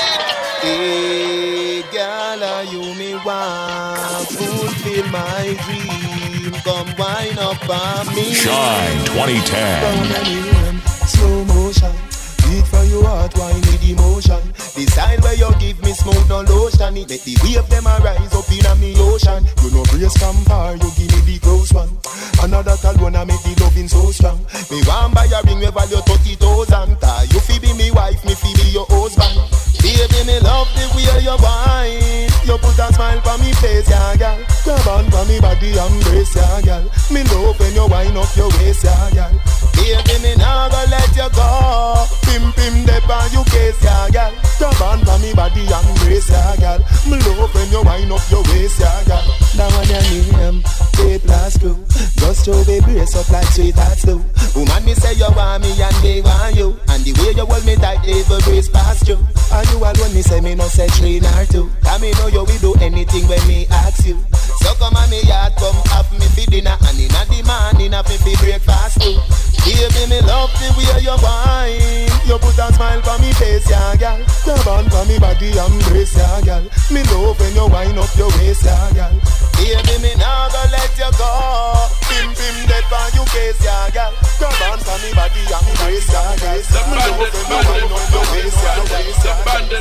K: Hey, girl, you me want fulfill my dream. Come wind up on me.
A: Shine twenty ten.
K: Slow motion. Beat for your heart, wine with emotion. The style where you give me smoke, no lotion. It make the wave them a rise up in a me ocean. You know brace from far, you give me the close one. Another alone I make the loving so strong. Me want buy a ring with value thirty thousand. You fi be me wife, me fi be your husband. Baby, me love the way you wine. You put a smile for me face, yeah, girl. Grab on for me body and brace, yeah, girl. Me love when you wind up your waist, yeah, girl. Baby, me nah go let you go. Pim pim dep on you case, yeah, girl. Grab on for me body and brace, yeah, girl. Me love when you wind up your waist, yeah, girl. Now on your name, A plus two. Just show the brace up like sweethearts do. Woman, me say you want me and they want you. And the way you hold me tight, they will brace past you. And you alone, me say me no say three nor two. Cause me know you will do anything when me ask you. So come on me yard, come have me for dinner. And in the morning, have me for breakfast too. Baby, me love the way you wine. You put a smile for me face, yeah, girl. Grab on for me body and brace, yeah, girl. Me love when you wind up your waist, yeah, girl. Baby, me nah go let you go. Pim pim dead for you case, yeah, girl. Grab on for me body and brace, yeah, girl. Me love when you wind up your waist, yeah, girl.
B: Bandit,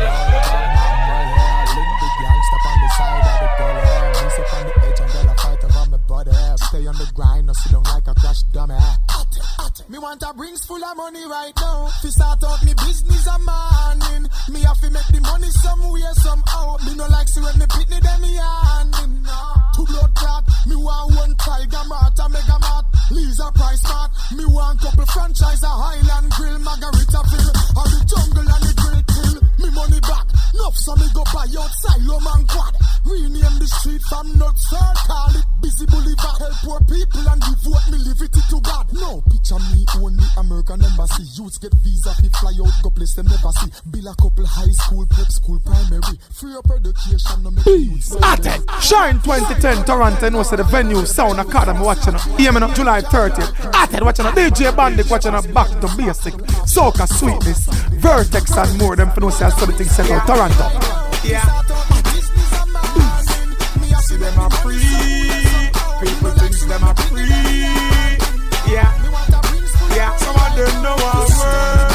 B: link the gangsta on the side of the gully. Me sit on the edge and girl I fight over my body. Stay on the grind, no sit down like a crash dummy. Hot it, hot
J: Me want a rings full of money right now. Fi start out me business a morning. Me have to make the money somewhere somehow. Me no like see when me pitney them me handing. Two blood clot. Me want one Tiger Mart, a Mega Mart, Lisa Price Mart. Me want couple franchise, a Highland Grill, Margaritaville, or the Jungle and the Grill Kill. Me money back, enough so me go buy outside Lom and Quad. Rename the street from Nuts, sir, call it Busy Boulevard. Help poor people and devote me liberty to God. No picture me only American embassy. Youths get visa, fi fly out, go place them never see. Build a couple high school, prep school, primary. Free up education, no make youths.
B: Atten, Shine twenty ten, Toronto, no say the venue, Sound Academy, watching up. Hear me now, July thirtieth. Atten, watching up. D J Bandit, watching up. Back to Basic, Soca Sweetness, Vertex and more. Them for no say I saw the thing set out Toronto.
J: Yeah. See them are free. People think them are free. Yeah. Yeah. Some of them know our word.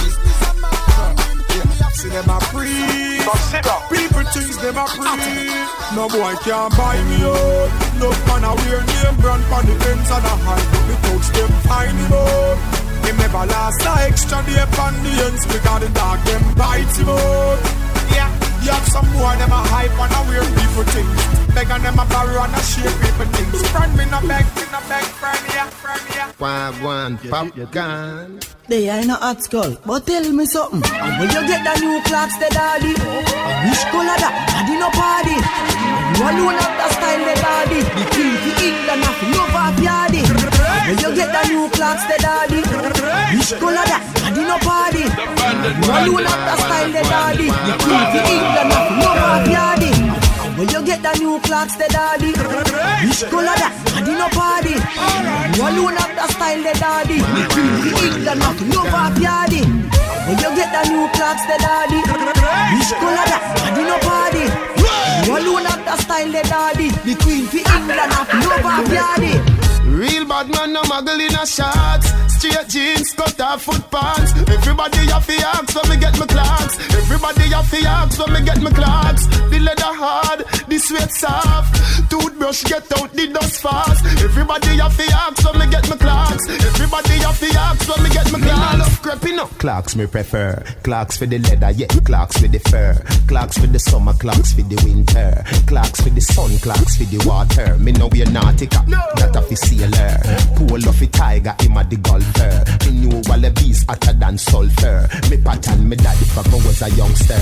J: Yeah. See them are free. People think them are free. No boy can't buy me out. No man a wear name brand on the ends and a high. But me touch them find him out. Him never last a extra day upon the ends. Because the dog them bite him out. Yeah. You have some more them a hype and a weird people things. Beg on them a borrow and a share people things. Friend me no beg, me no beg, friend ya, friend ya.
K: One, one, pop gun.
E: They are in a hot skull, but tell me something. And when you get the new clocks, the daddy, and which color that? Daddy no party. And you alone have the style, the daddy. The queen for England, nothing love off yardy. And when you get the new clocks, the daddy, which color that? Daddy no party. And you alone have the style, the daddy. The queen for England, nothing love off yardy. When you get the new clocks, the daddy, which color that? Daddy no party. You alone have the style, the daddy. The queen for England, nothing love off yardy. When you get the new clocks, the daddy, which color that? Daddy no party. You alone have the style, the daddy. The queen for England, nothing love off yardy.
K: Real bad man, no muggle in a shorts. Straight jeans, cut off foot pants. Everybody have to ask when me get my clocks. Everybody have to ask when me get my clocks. The leather hard, the sweat soft. Toothbrush get out the dust fast. Everybody have to ask when me get my clocks. Everybody have to ask when me get my clocks. I love creeping up. Clocks me prefer. Clocks for the leather, yeah. Clocks for the fur. Clocks for the summer, clocks for the winter. Clocks for the sun, clocks for the water. Me know we're nautica, no. That of the sailor. Pull off a tiger, him a the golfer. Me knew wallabies hotter than sulfur. Me pattern me daddy from I was a youngster.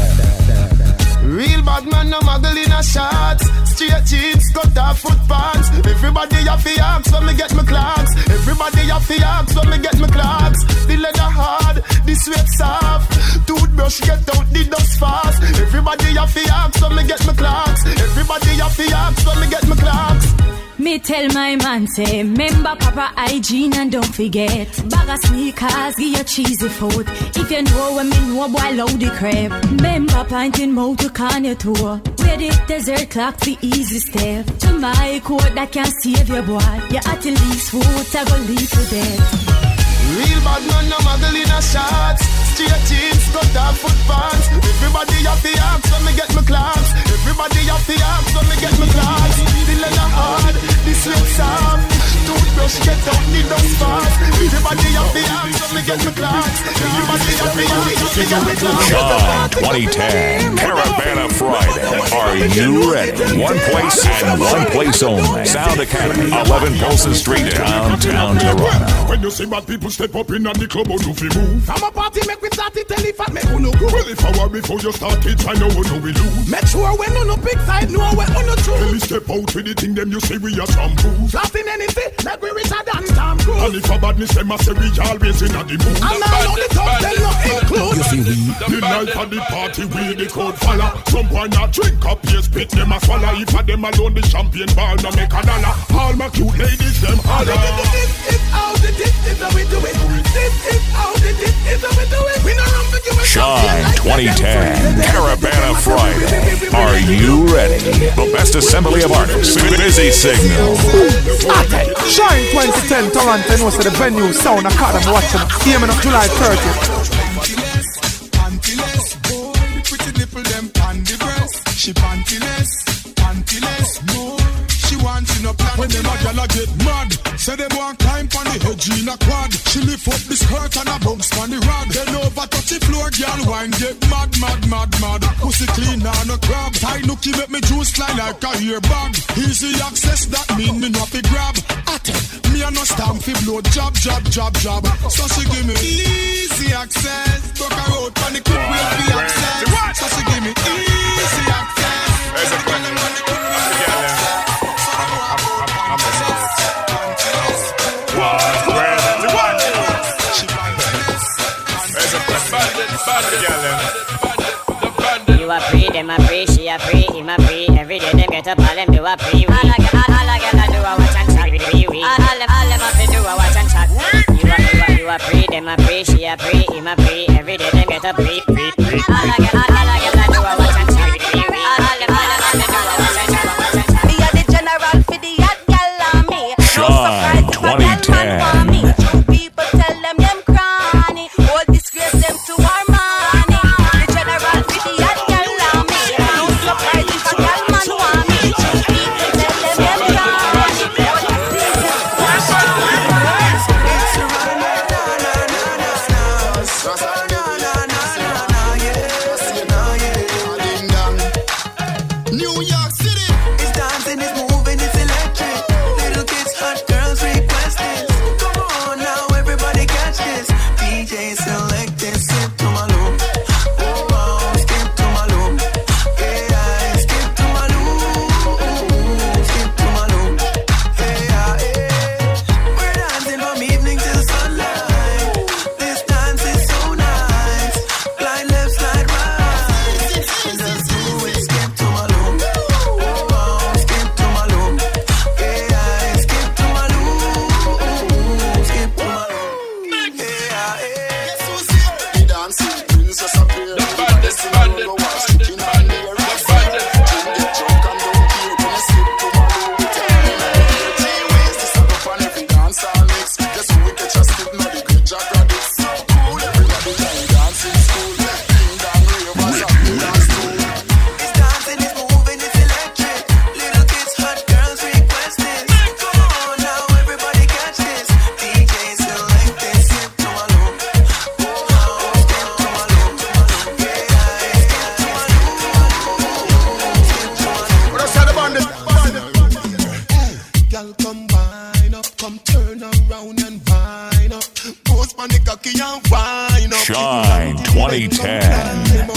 K: Real bad man, no muggle in a shorts. Straight jeans, cut off foot pants. Everybody have to ask when me get my clocks. Everybody have to ask when me get my clocks. The leather hard, the sweat soft. Toothbrush get out the dust fast. Everybody have to ask when me get my clocks. Everybody have to ask when me get my clocks.
Q: Me tell my man say, remember proper hygiene and don't forget. Bag of sneakers, give you cheesy food. If you know what me know, boy, load the crap. Remember pointing mouth to can you tour. Where the desert clock the easy step. To my code that can save your boy. You at the least food, I go leave to death.
K: Real bad man, no muggle in a shorts. Straight jeans, cut off foot pants. Everybody have to ask when me get my clocks. Everybody have to ask when me get my clocks. The leather hard, the sweat soft. Toothbrush get out the dust fast. Everybody have to ask when me get my clocks. Everybody have to ask when me get my clocks.
A: Shine twenty ten, Caravana Friday. Are you ready? One place and one place only. Sound Academy, eleven Polson Street, downtown Toronto.
J: When you see bad people step up in at the club, do fi move. From a party, make we start it, tell if I make uno go. Well, if I were before you start it, I know uno we lose. Make sure when uno big side, know when uno true. Tell me step out with the thing, them you say we are shampoos. Blasting anything, like we richer than Tom Cruise. And if a badness, them I say we always in at the mood. And now on the top, tell no include. You see we, the night of the party, we the crowd follow. Some boy not drink up, yes, spit them a swallow. If a them alone, the champagne ball, no make a dollar. All my cute ladies, them holler. This is how the this is how we do it. This is how the this is how we do it. We not run for you.
A: Shine twenty ten, Caravana Friday. Are you ready? The best assembly of artists. Busy Signal.
B: Shine twenty ten, Toronto, no say the venue, Sound Academy, watching. Hear me on July thirtieth.
J: Pantyless, boy, the pretty nipple them on the breast. She pantyless, pantyless, more. She wants to no plan. When them a gyal a get mad, say them want climb on the edge in a quad. She lift up the skirt and a bounce on the rod. Then over touch the floor, gyal wine get mad, mad, mad, mad. Pussy clean and a crab. Tie nookie make me juice line like a ear bag. Easy access that mean me not be grab. At it, me a no stamp fi blow jab, jab, jab, jab. So she give me easy access. Talk her out on the quick way fi access. So she give me easy access.
R: There's a question.
S: You are free, them a free, she a free, him a free. Every day them get up, all them do a free. All I get, all I get, I do a watch and chat with free we. All them, all them a free do a watch and chat. You are, you are, you are free, them a free, she a free, him a free. Every day them get up, free, free, free. All I get, all I get, I do a watch and chat with free we. All them, all them a free do a watch and chat, watch and chat.
F: Me a the general for the hot gal on me.
A: Sean twenty ten.
F: People tell them them cranny. All disgrace them to our money. The general for the hot gal on me. No surprise if a gal man want me. People tell them them cranny.
J: New York City.
E: It's dancing, it's moving, it's electric. Little kids, hot girls request this. Come on now, everybody catch this. D J select this, skip to my loop. Oh, oh, skip to my loop. Yeah, skip to my loop. Skip to my loop. Yeah, yeah. We're dancing from evening till sunlight. This dance is so nice. Slide left, slide right. Just do it, skip to my loop. Oh, oh, skip to my loop. Yeah, skip to my loop. Skip to my loop. Yeah, yeah.
J: The dancing princess appear. The baddest, baddest, baddest, baddest, baddest. Get drunk and don't care when you slip to my loop. Three ways to suck up on every dance I mix. Guess who we catch a slip now the great Jack Rabbits. Cool, everybody time dancing school. Ding dong ravers and we dance too.
E: It's dancing, it's moving, it's electric. Little kids, hot girls request this. Come on now, everybody catch this. D J select this, skip to my loop. Oh, oh, skip to my loop. Yeah, skip to my loop. Skip to my loop.
J: What else had the bandit?
K: Girl, come wine up, come turn around and wine up. Post on the cocky and wine up.
A: Shine twenty ten.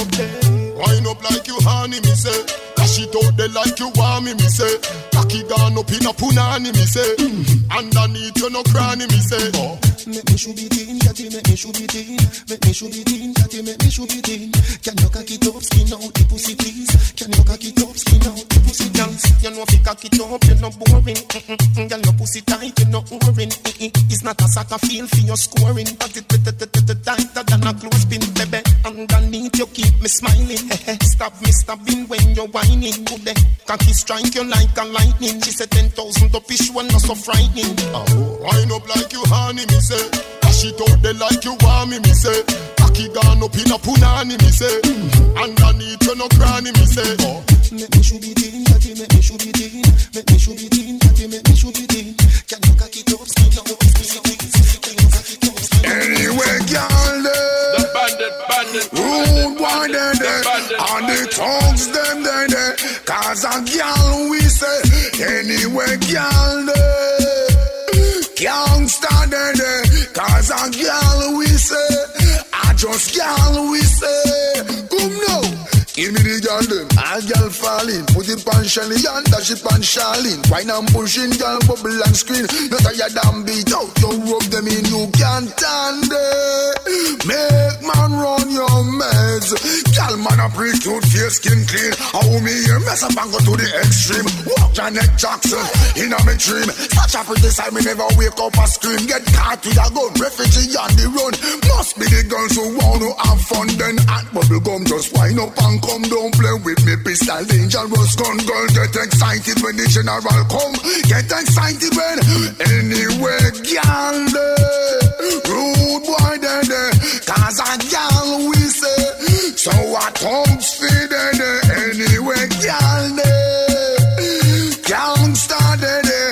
K: Wine up like you honey, me say. Dash it out there like you want me, me say. Cocky gone up in a punani, me say. Underneath you no cranny, me say. Oh. Make me should be teen, catty, make me should be teen. Make me should be teen, catty, make me should be teen. Can you cock it up, skin out the pussy, please? Can you cock it up, skin out the pussy, please? You know if you cock it up, you're not boring. Mm-mm. Girl, your pussy tight, you're not boring. It's not a soccer field for your scoring. But it tighter than a clothespin, baby. Underneath you keep me smiling. Stop me stabbing when you're whining. Good day, cocky strike you like a lightning. She said ten thousand up is one not so frightening. Oh, wind up like you honey, me say. Dash it out there like you want me, me say. Cocky gone up in a punani, me say. Underneath you no cranny, me say. Oh, make me should be teen, catty, make me should be teen. Make me should be teen, catty, make me should be teen. Can you cock it up, skin out, skin out, skin out. Anyway, girl,
R: The bandit, bandit,
K: rude boy, they they, and the tongues them they they. Cause a girl we say, anyway, girl they, gangsta they they. Cause a girl we say, I just girl we say. Come now. Give me the girl them, all girl falling. Put it on Shelly and dash it on Charlene. Wine and pushing, girl bubble and screen. Not a ya damn beat out, you rub them in, you can't stand it. Make man run your meds. Girl man a pretty cute, face skin clean. How me here mess up and go to the extreme. Walk Janet Jackson in a me dream. Such a pretty side, me never wake up and scream. Get caught with a gun, refugee on the run. Must be the girls who want to have fun. Then at bubble gum just wind up and come down, play with me pistol, dangerous gun. Girl, get excited when the general come. Get excited when anyway, girl, rude boy, they they. Cause a girl we say, so what tongues feed they anyway, girl, they. Gangsta, they they.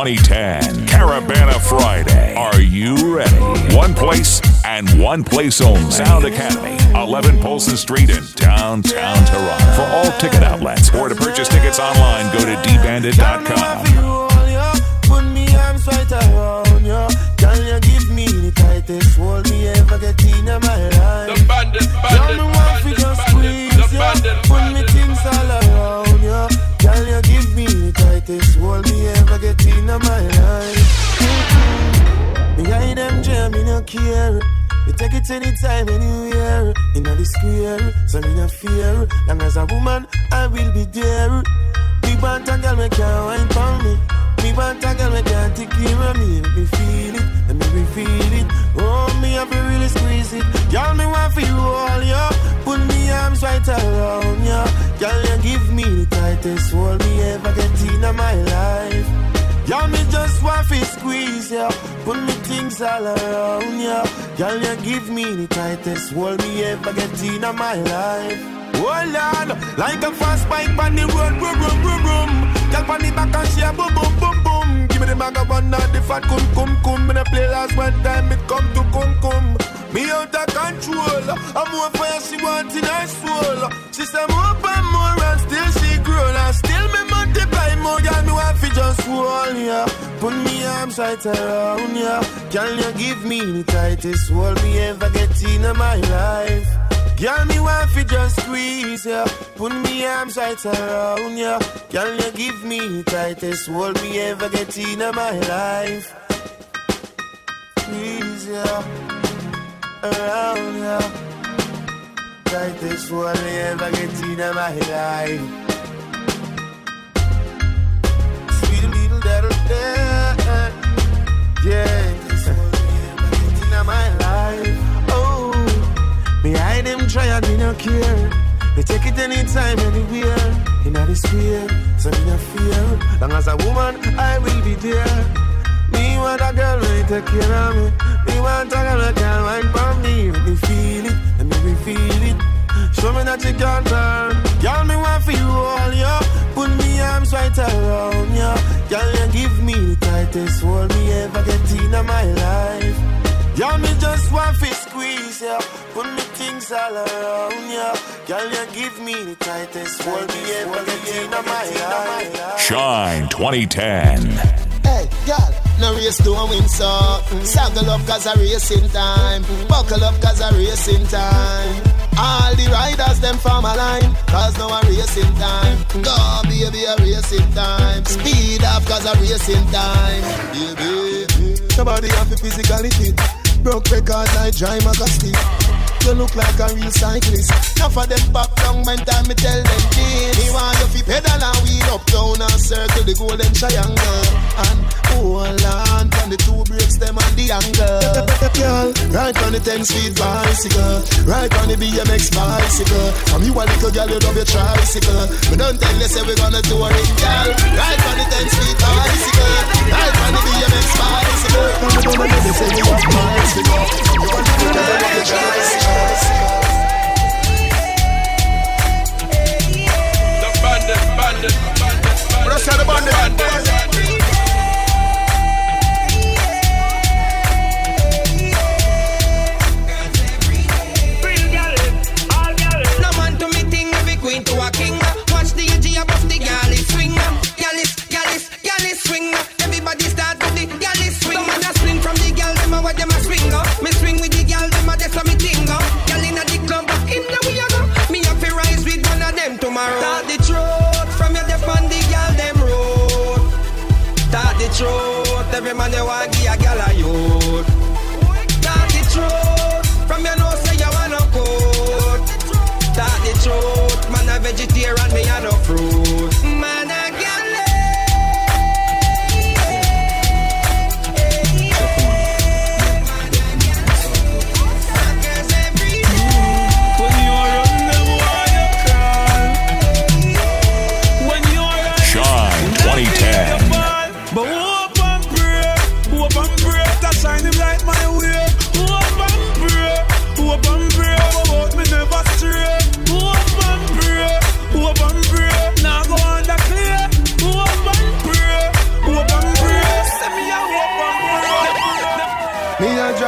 A: twenty ten Caravana Friday. Are you ready? One place and one place only. Sound Academy, eleven Polson Street in downtown Toronto. For all ticket outlets or to purchase tickets online, go to d bandit dot com.
K: Put me arms right around you. Can you give me the tightest hold me ever get in my life?
R: The bandit, bandit,
K: me want to just squeeze you. Put me things all around you. Can you give me the tightest hold me ever get in my life? Me hide them jam, me no care. You take it anytime, anywhere. In the square, so me no fear. Long as a woman, I will be there. Me want a girl, me can't wine for me. Me want a girl, me can't take care of me. Let me feel it, let me feel it. Oh, me have to really squeeze it. Girl, me want for you all, yo. Put me arms right around you. Girl, you give me the tightest hold me ever get in my life. Girl, me just want to squeeze ya. Put me things all around ya. Girl, you give me the tightest hold me ever get in my life. Oh Lord, like a fast bike on the road, boom, boom, boom, boom. Girl, on the back and she a boom, boom, boom, boom. Give me the bag of one, not the fat cum, cum, cum. Me the play last one time, it come to cum, cum. Me out of control. I'm more fire she want in her soul. She say more and more and still she grow. And still me multiply more. Girl, me want to just hold ya. Put me arms right around ya. Can you give me the tightest hold me ever get in my life? Girl, me want to just squeeze ya. Put me arms right around ya. Can you give me the tightest hold me ever get in my life? Squeeze ya. Around ya. Tightest hold me ever get in my life. Sweet little little day. Yeah, this hold me ever get in my life. Oh, me hide them try and me no care. Me take it anytime, anywhere. In the square, so me no fear. Long as a woman, I will be there. Me want a girl when take care of me. Me want a girl that can wine for me. Let me feel it, let me feel it. Show me that you can turn. Girl, me want for you all, yo. Put me arms right around you. Girl, you give me the tightest hold me ever get in my life. Girl, me just want to squeeze ya. Put me things all around ya. Girl, you give me the tightest hold me ever get in my life.
A: Shine twenty ten.
K: Hey, girl, no race to a win, so saddle up cause a racing time. Buckle up cause a racing time. All the riders, them from a line, cause now a racing time. Go, baby, a racing time. Speed up cause a racing time. Baby, somebody have a physically fit. Broke record like Jai Magasti. You look like a real cyclist. Now for them back down, when time me tell them this. Me want you fi pedal and wheel up down and circle the golden triangle. And hold on from the two brakes, them and the angle. Girl, right on the ten speed bicycle. Right on the B M X bicycle. From you a little girl, you love your tricycle. But don't tell you say we gonna do it, girl. Right on the ten speed bicycle. Right on the B M X bicycle. From the moment they say you have bicycle. You want to do it, you love your tricycle.
R: The bandit, bandit, bandit,
K: Rush out the bandit, bandit.
E: No man to me thing, every queen to a king. Watch the edge above the galley swing. Galley, galley, galley swing. Everybody start with the galley swing. Man a swing from the gal, them a what them a swing. Me swing with the gal, them a that's a me thing. Gal inna the club, in the we a go. Me have to rise with one of them tomorrow. Start the truth from your deaf on the gal them road. Start the truth, every man you want give a gal a youth. Start the truth from your nose say you want no coat. Start the truth, man a vegetarian, me a no fruit. Man a gal.
A: twenty ten.
L: But hope and pray, hope and pray to shine him like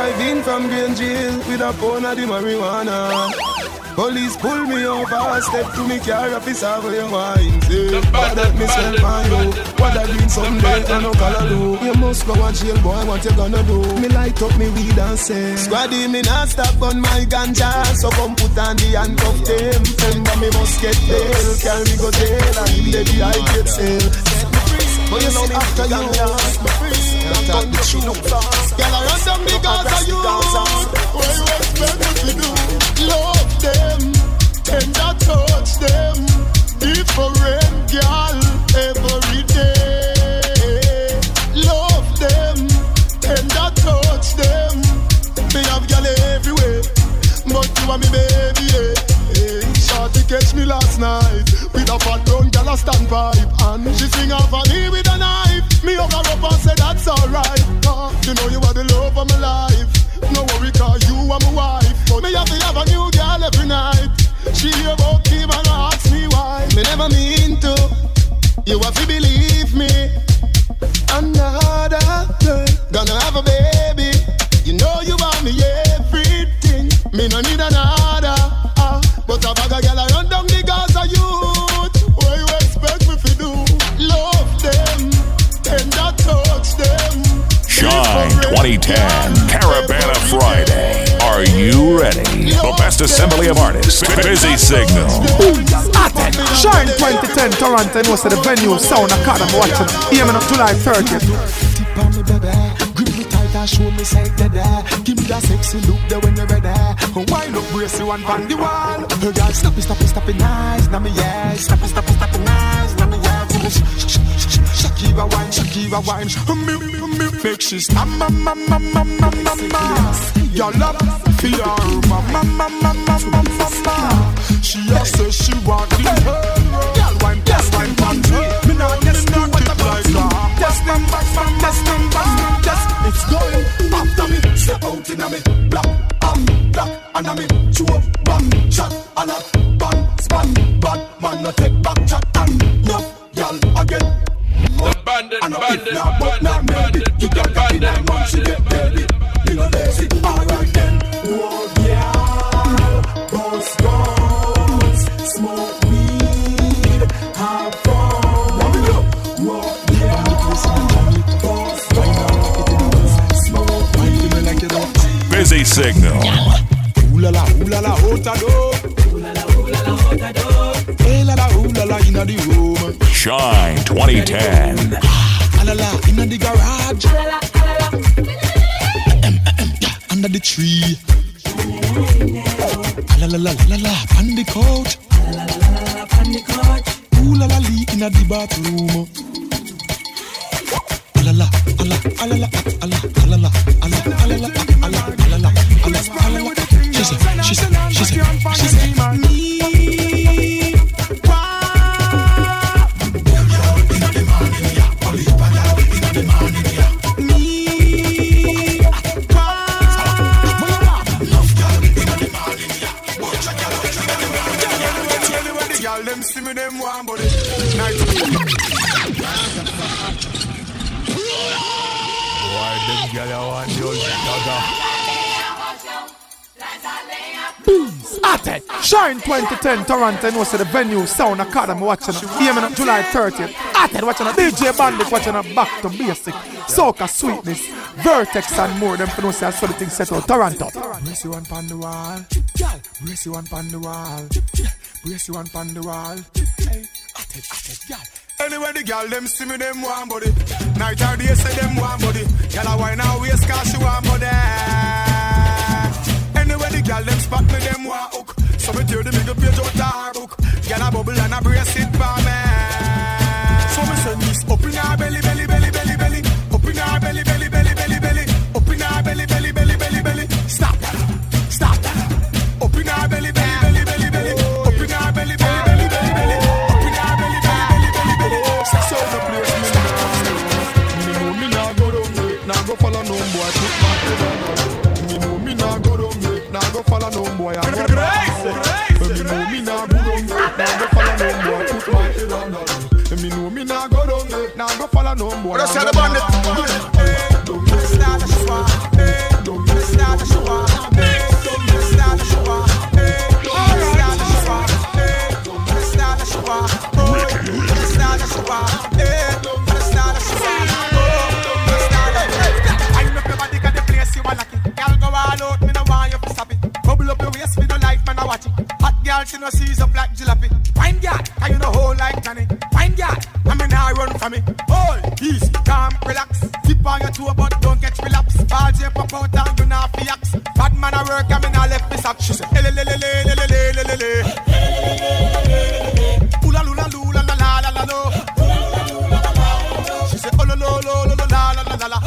K: drive in from Green Jail with a pound of the marijuana. Police pull me over, step to me car, officer for your wine. Say, what that me sell for you? What that mean someday I no color do? You must go and jail, boy, what you gonna do? Me light up me weed and say, Squaddy, me not stop on my ganja, so come put on the handcuff them. Friend me must get bail, carry me go jail, and him the I get sale. But you know me after you, me free, I'm done the truth. Girl, I run down the Gaza you. What you expect me to do? Love them, tender touch them. Different girl every day. Love them, tender touch them. Me have girl everywhere, but you are me baby. Yeah. Hey, shorty catch me last night with a fat brown girl a stand pipe, and she swing off on me with a knife. Me hug her up and say that's alright. Uh, you know you are the love of my life. No worry, cause you are my wife. But me have to have a new girl every night. She hear about him and ask me why. Me never mean to. You have to believe me. Another girl gonna have a baby. You know you want me everything. Me no need another. Uh, but a bag of girl I run down the Gaza youth. What you expect me to do? Love them, tender touch them.
A: Shine twenty ten, Caravana Friday. Are you ready? The best assembly of artists. Busy Signal.
B: Atten. Shine twenty ten, Toronto, and what's the venue? Sound Academy. Watching. Here on July thirtieth.
K: Tip on me, baby. Grip me tight and show me say that. Give me that sexy look there when you're ready. Wind up, brace you and on the wall. Her girl, stop it, stop it, stop it, nice. Now me, yeah. Stop it, stop it, stop it, nice. Now me, yeah. Shakira wine, Shakira wine. Make she stop, ma ma ma ma ma ma ma. Your love for your ma ma ma ma ma ma ma. She a say she want the world. Girl wine, girl wine, country. Me not just know what I'm like that. Just them back, man, just them back, just it's going after me. Step out in a me, black, um, black, and a me chew up, bang, shot, a lot, bang, span, bad man, no take back chat and no, girl again.
R: The bandit, bandit, bandit, bandit, you got bandit, bandit, bandit.
K: You know lazy, alright then. Oh yeah, boss guns, smoke weed, have fun. Oh yeah, boss guns, smoke weed.
A: Busy Signal.
K: Ooh la la, ooh la la, otado. Ooh la la, ooh la la, otado. Hey la la, ooh la la, inna the room.
A: Shine twenty ten.
K: Alala, inna the garage. Alala, alala. Under the tree. Alala, la la la, on the couch. Alala, la la la, on the couch. Ooh la la, lee inna the bathroom. Alala, alala, alala, alala, alala, alala, alala, alala, alala, alala. She said, she said, she said, she said, me. Them see me them one body. Night. Why them gyal want your
B: Booms. Atten. Shine twenty ten, Toronto, and what's the venue? Sound Academy. Watching. Here on July thirtieth. Atten. Watching a D J Bandit. Watching a Back to Basic. Soca Sweetness. Vertex and more. Them for no say I saw the thing set out. Toronto.
K: Brace you one pan the wall. Brace you one pan the wall. Brace you one pan the wall. Hey, at it, at it, girl. Anyway, the girl them see me them one body. Night or day say them one body. Girl I wine her waist 'cause she one body. Anyway, the girl them spot me them one hook. So me tear the middle page out her book. Girl a bubble and a brace it for me. So me send this up in her belly, belly, belly, belly, belly. Up in her belly, belly, belly, belly, belly. Up in her belly, belly, belly, belly, belly. Stop that, stop that. Up in her belly, belly, belly, belly, belly. Up in her belly, belly, belly, belly, belly. Up in her belly, belly, belly, belly, belly. Sex out the place, me know. Me know me nah go down there, nah go follow no boy. Put my head on. Me know me nah go down there, nah go follow no boy. I go back. Me know me nah go down there, nah go follow no boy. Put my head on. Me know me nah go down there, nah go follow no boy. Let's have the bandit. Hey, don't start the swap. Hey, don't start.
B: Easy, calm, relax. Tip on your toe, but don't catch relapse. Ball J pop out and you not fi ax. Bad man a work and me not left me sack. She say, ele le le le le le le le le. Oola lula lula la la la la lo. She say, oh lo lo lo lo la la la la la.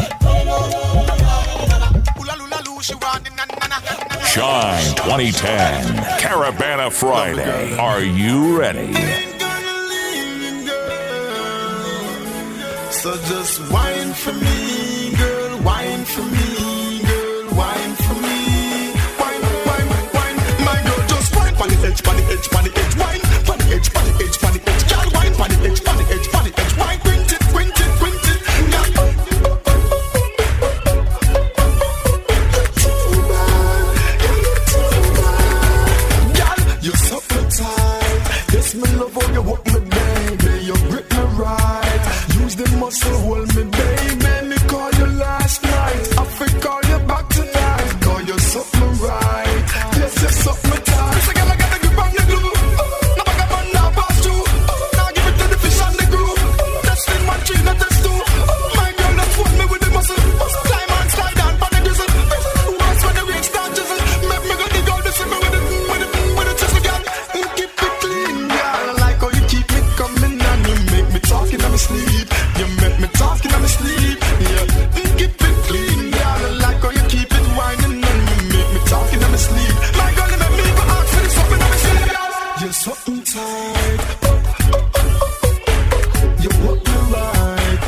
B: Oola lula lu, she want the na na na.
A: Shine twenty ten, Caravana Friday. Are you ready?
K: So just whine for me, girl, whine for me, girl, whine for me. Whine, whine, whine, my girl, just whine on the edge, on the edge, on the edge, whine, on the edge, on the edge, on the edge, girl, whine on the edge, on the edge, on the edge, whine, quint it, quint it, quint it, girl. Too bad, too bad, girl, you're so tight. Yes, me love how you walk me, baby, you grip me right. The muscle hold me, baby. Me call you last night. I feel call you back tonight. Call you something right. Yes, you're something tight. This girl I gotta give on the glue. Now I got one now pass through. Now give it to the fish and the groove. That's in my tree, not that's two. My girl, that's what me with the muscle. Climb and slide down, pan the drizzle. Once when the rain start drizzle, make me go dig out the simmer with it, with it, with it, chisel, girl. Keep it clean, girl. I like how you keep me coming and you make me talking on my sleep. You make me talking on my sleep, yeah. Keep it clean, girl. I like how you keep it whining and you make me talking on my sleep. My girl, you make me go ask for this something on my sleep, girl. You're something tight. You walk me right.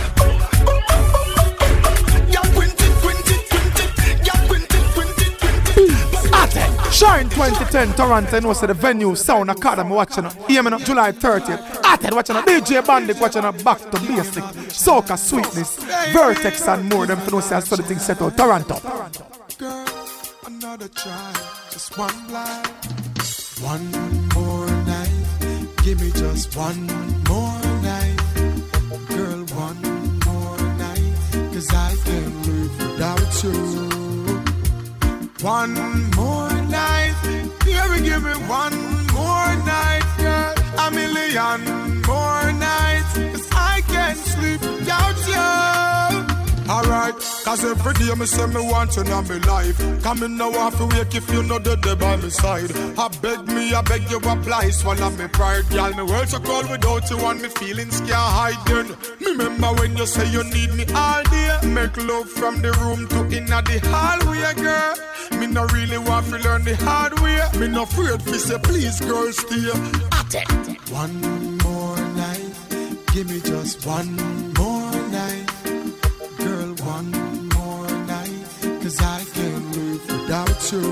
K: Girl, quint it, quint it, quint it. Girl, quint it, quint it, quint it.
B: Ate, Shine twenty ten Toronto, no say the venue Sound Academy watching up. Hear me now, July thirtieth. Ate watching up. D J Bandit watching up. Back to basic. Soca Sweetness, Vertex and more. Them for no say I saw the thing set out. Toronto.
K: Girl, another try, just one blind. One more night, give me just one more night. Girl, one more night, cause I can't live without you. One more night, baby, give me one more night, girl. A million more nights, cause I can't sleep without you. Alright, cause every day me say me want you in my life. Come in now off to wake if you know the day by my side. I beg me, I beg you apply, swallow me pride. Girl, me world so cold without you and me feelings can't hide then. Me remember when you say you need me all day. Make love from the room to inna the hallway, girl. Me no really want to learn the hard way. Me no afraid to say please girl stay. One more night, give me just one more night. Girl, one more night, cause I can't live without you.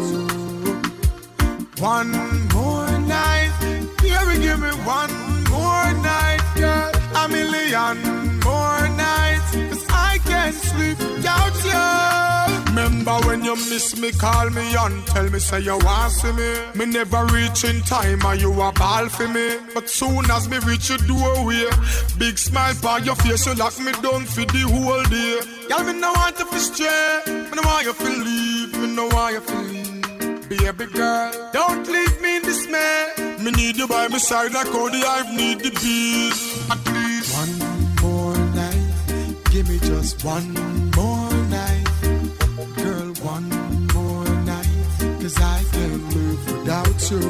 K: One more night, baby, give me one more night, girl. A million more nights, cause I can't sleep without you. Remember when you miss me, call me and tell me say you want see me. Me never reach in time and you a ball for me. But soon as me reach your doorway, big smile on your face, you lock me down for the whole day. Y'all me no want you to stray, me no want you to leave, me no want you to leave. Baby girl, don't leave me in dismay. Me need you by my side like how the hive need the bees. At least one more night, give me just one more night. Girl, one more night, cause I can't live without you.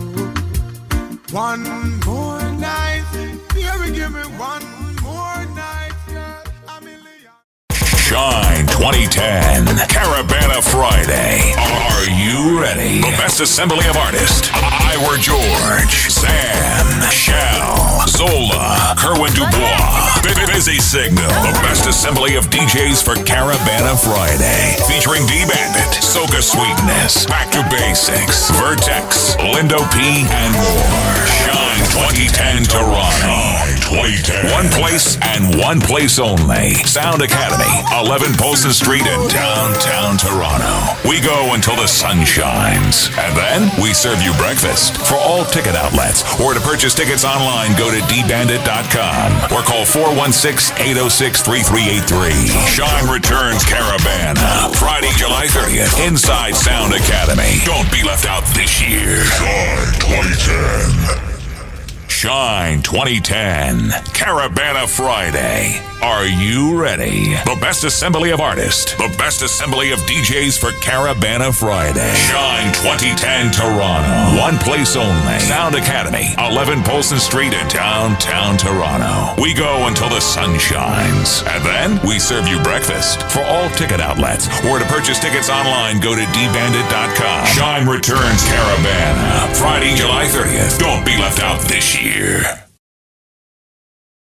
K: One more night, baby, give me one more night, girl. A million.
A: Shine twenty ten, Caravana Friday. Are you ready? The best assembly of artists. Ira George, Sam, Shell, Zola, Kerwin Dubois, Busy Signal. The best assembly of D Js for Caravana Friday. Featuring D-Bandit, Soca Sweetness, Back to Basics, Vertex, Lindo P, and more. Shine twenty ten Toronto. twenty ten. One place and one place only. Sound Academy, eleven Polson Street in downtown Toronto. We go until the sun shines. And then we serve you breakfast. For all ticket outlets or to purchase tickets online, go to d bandit dot com or call four one six, eight oh six, three three eight three. Shine returns Caravana, Friday, July thirtieth, inside Sound Academy. Don't be left out this year. Shine twenty ten. Shine twenty ten, Caravana Friday. Are you ready? The best assembly of artists, the best assembly of D Js for Caravana Friday. Shine twenty ten Toronto. One place only. Sound Academy, eleven Polson Street in downtown Toronto. We go until the sun shines. And then we serve you breakfast. For all ticket outlets or to purchase tickets online, go to d bandit dot com. Shine returns Caravana Friday, July thirtieth. Don't be left out this year.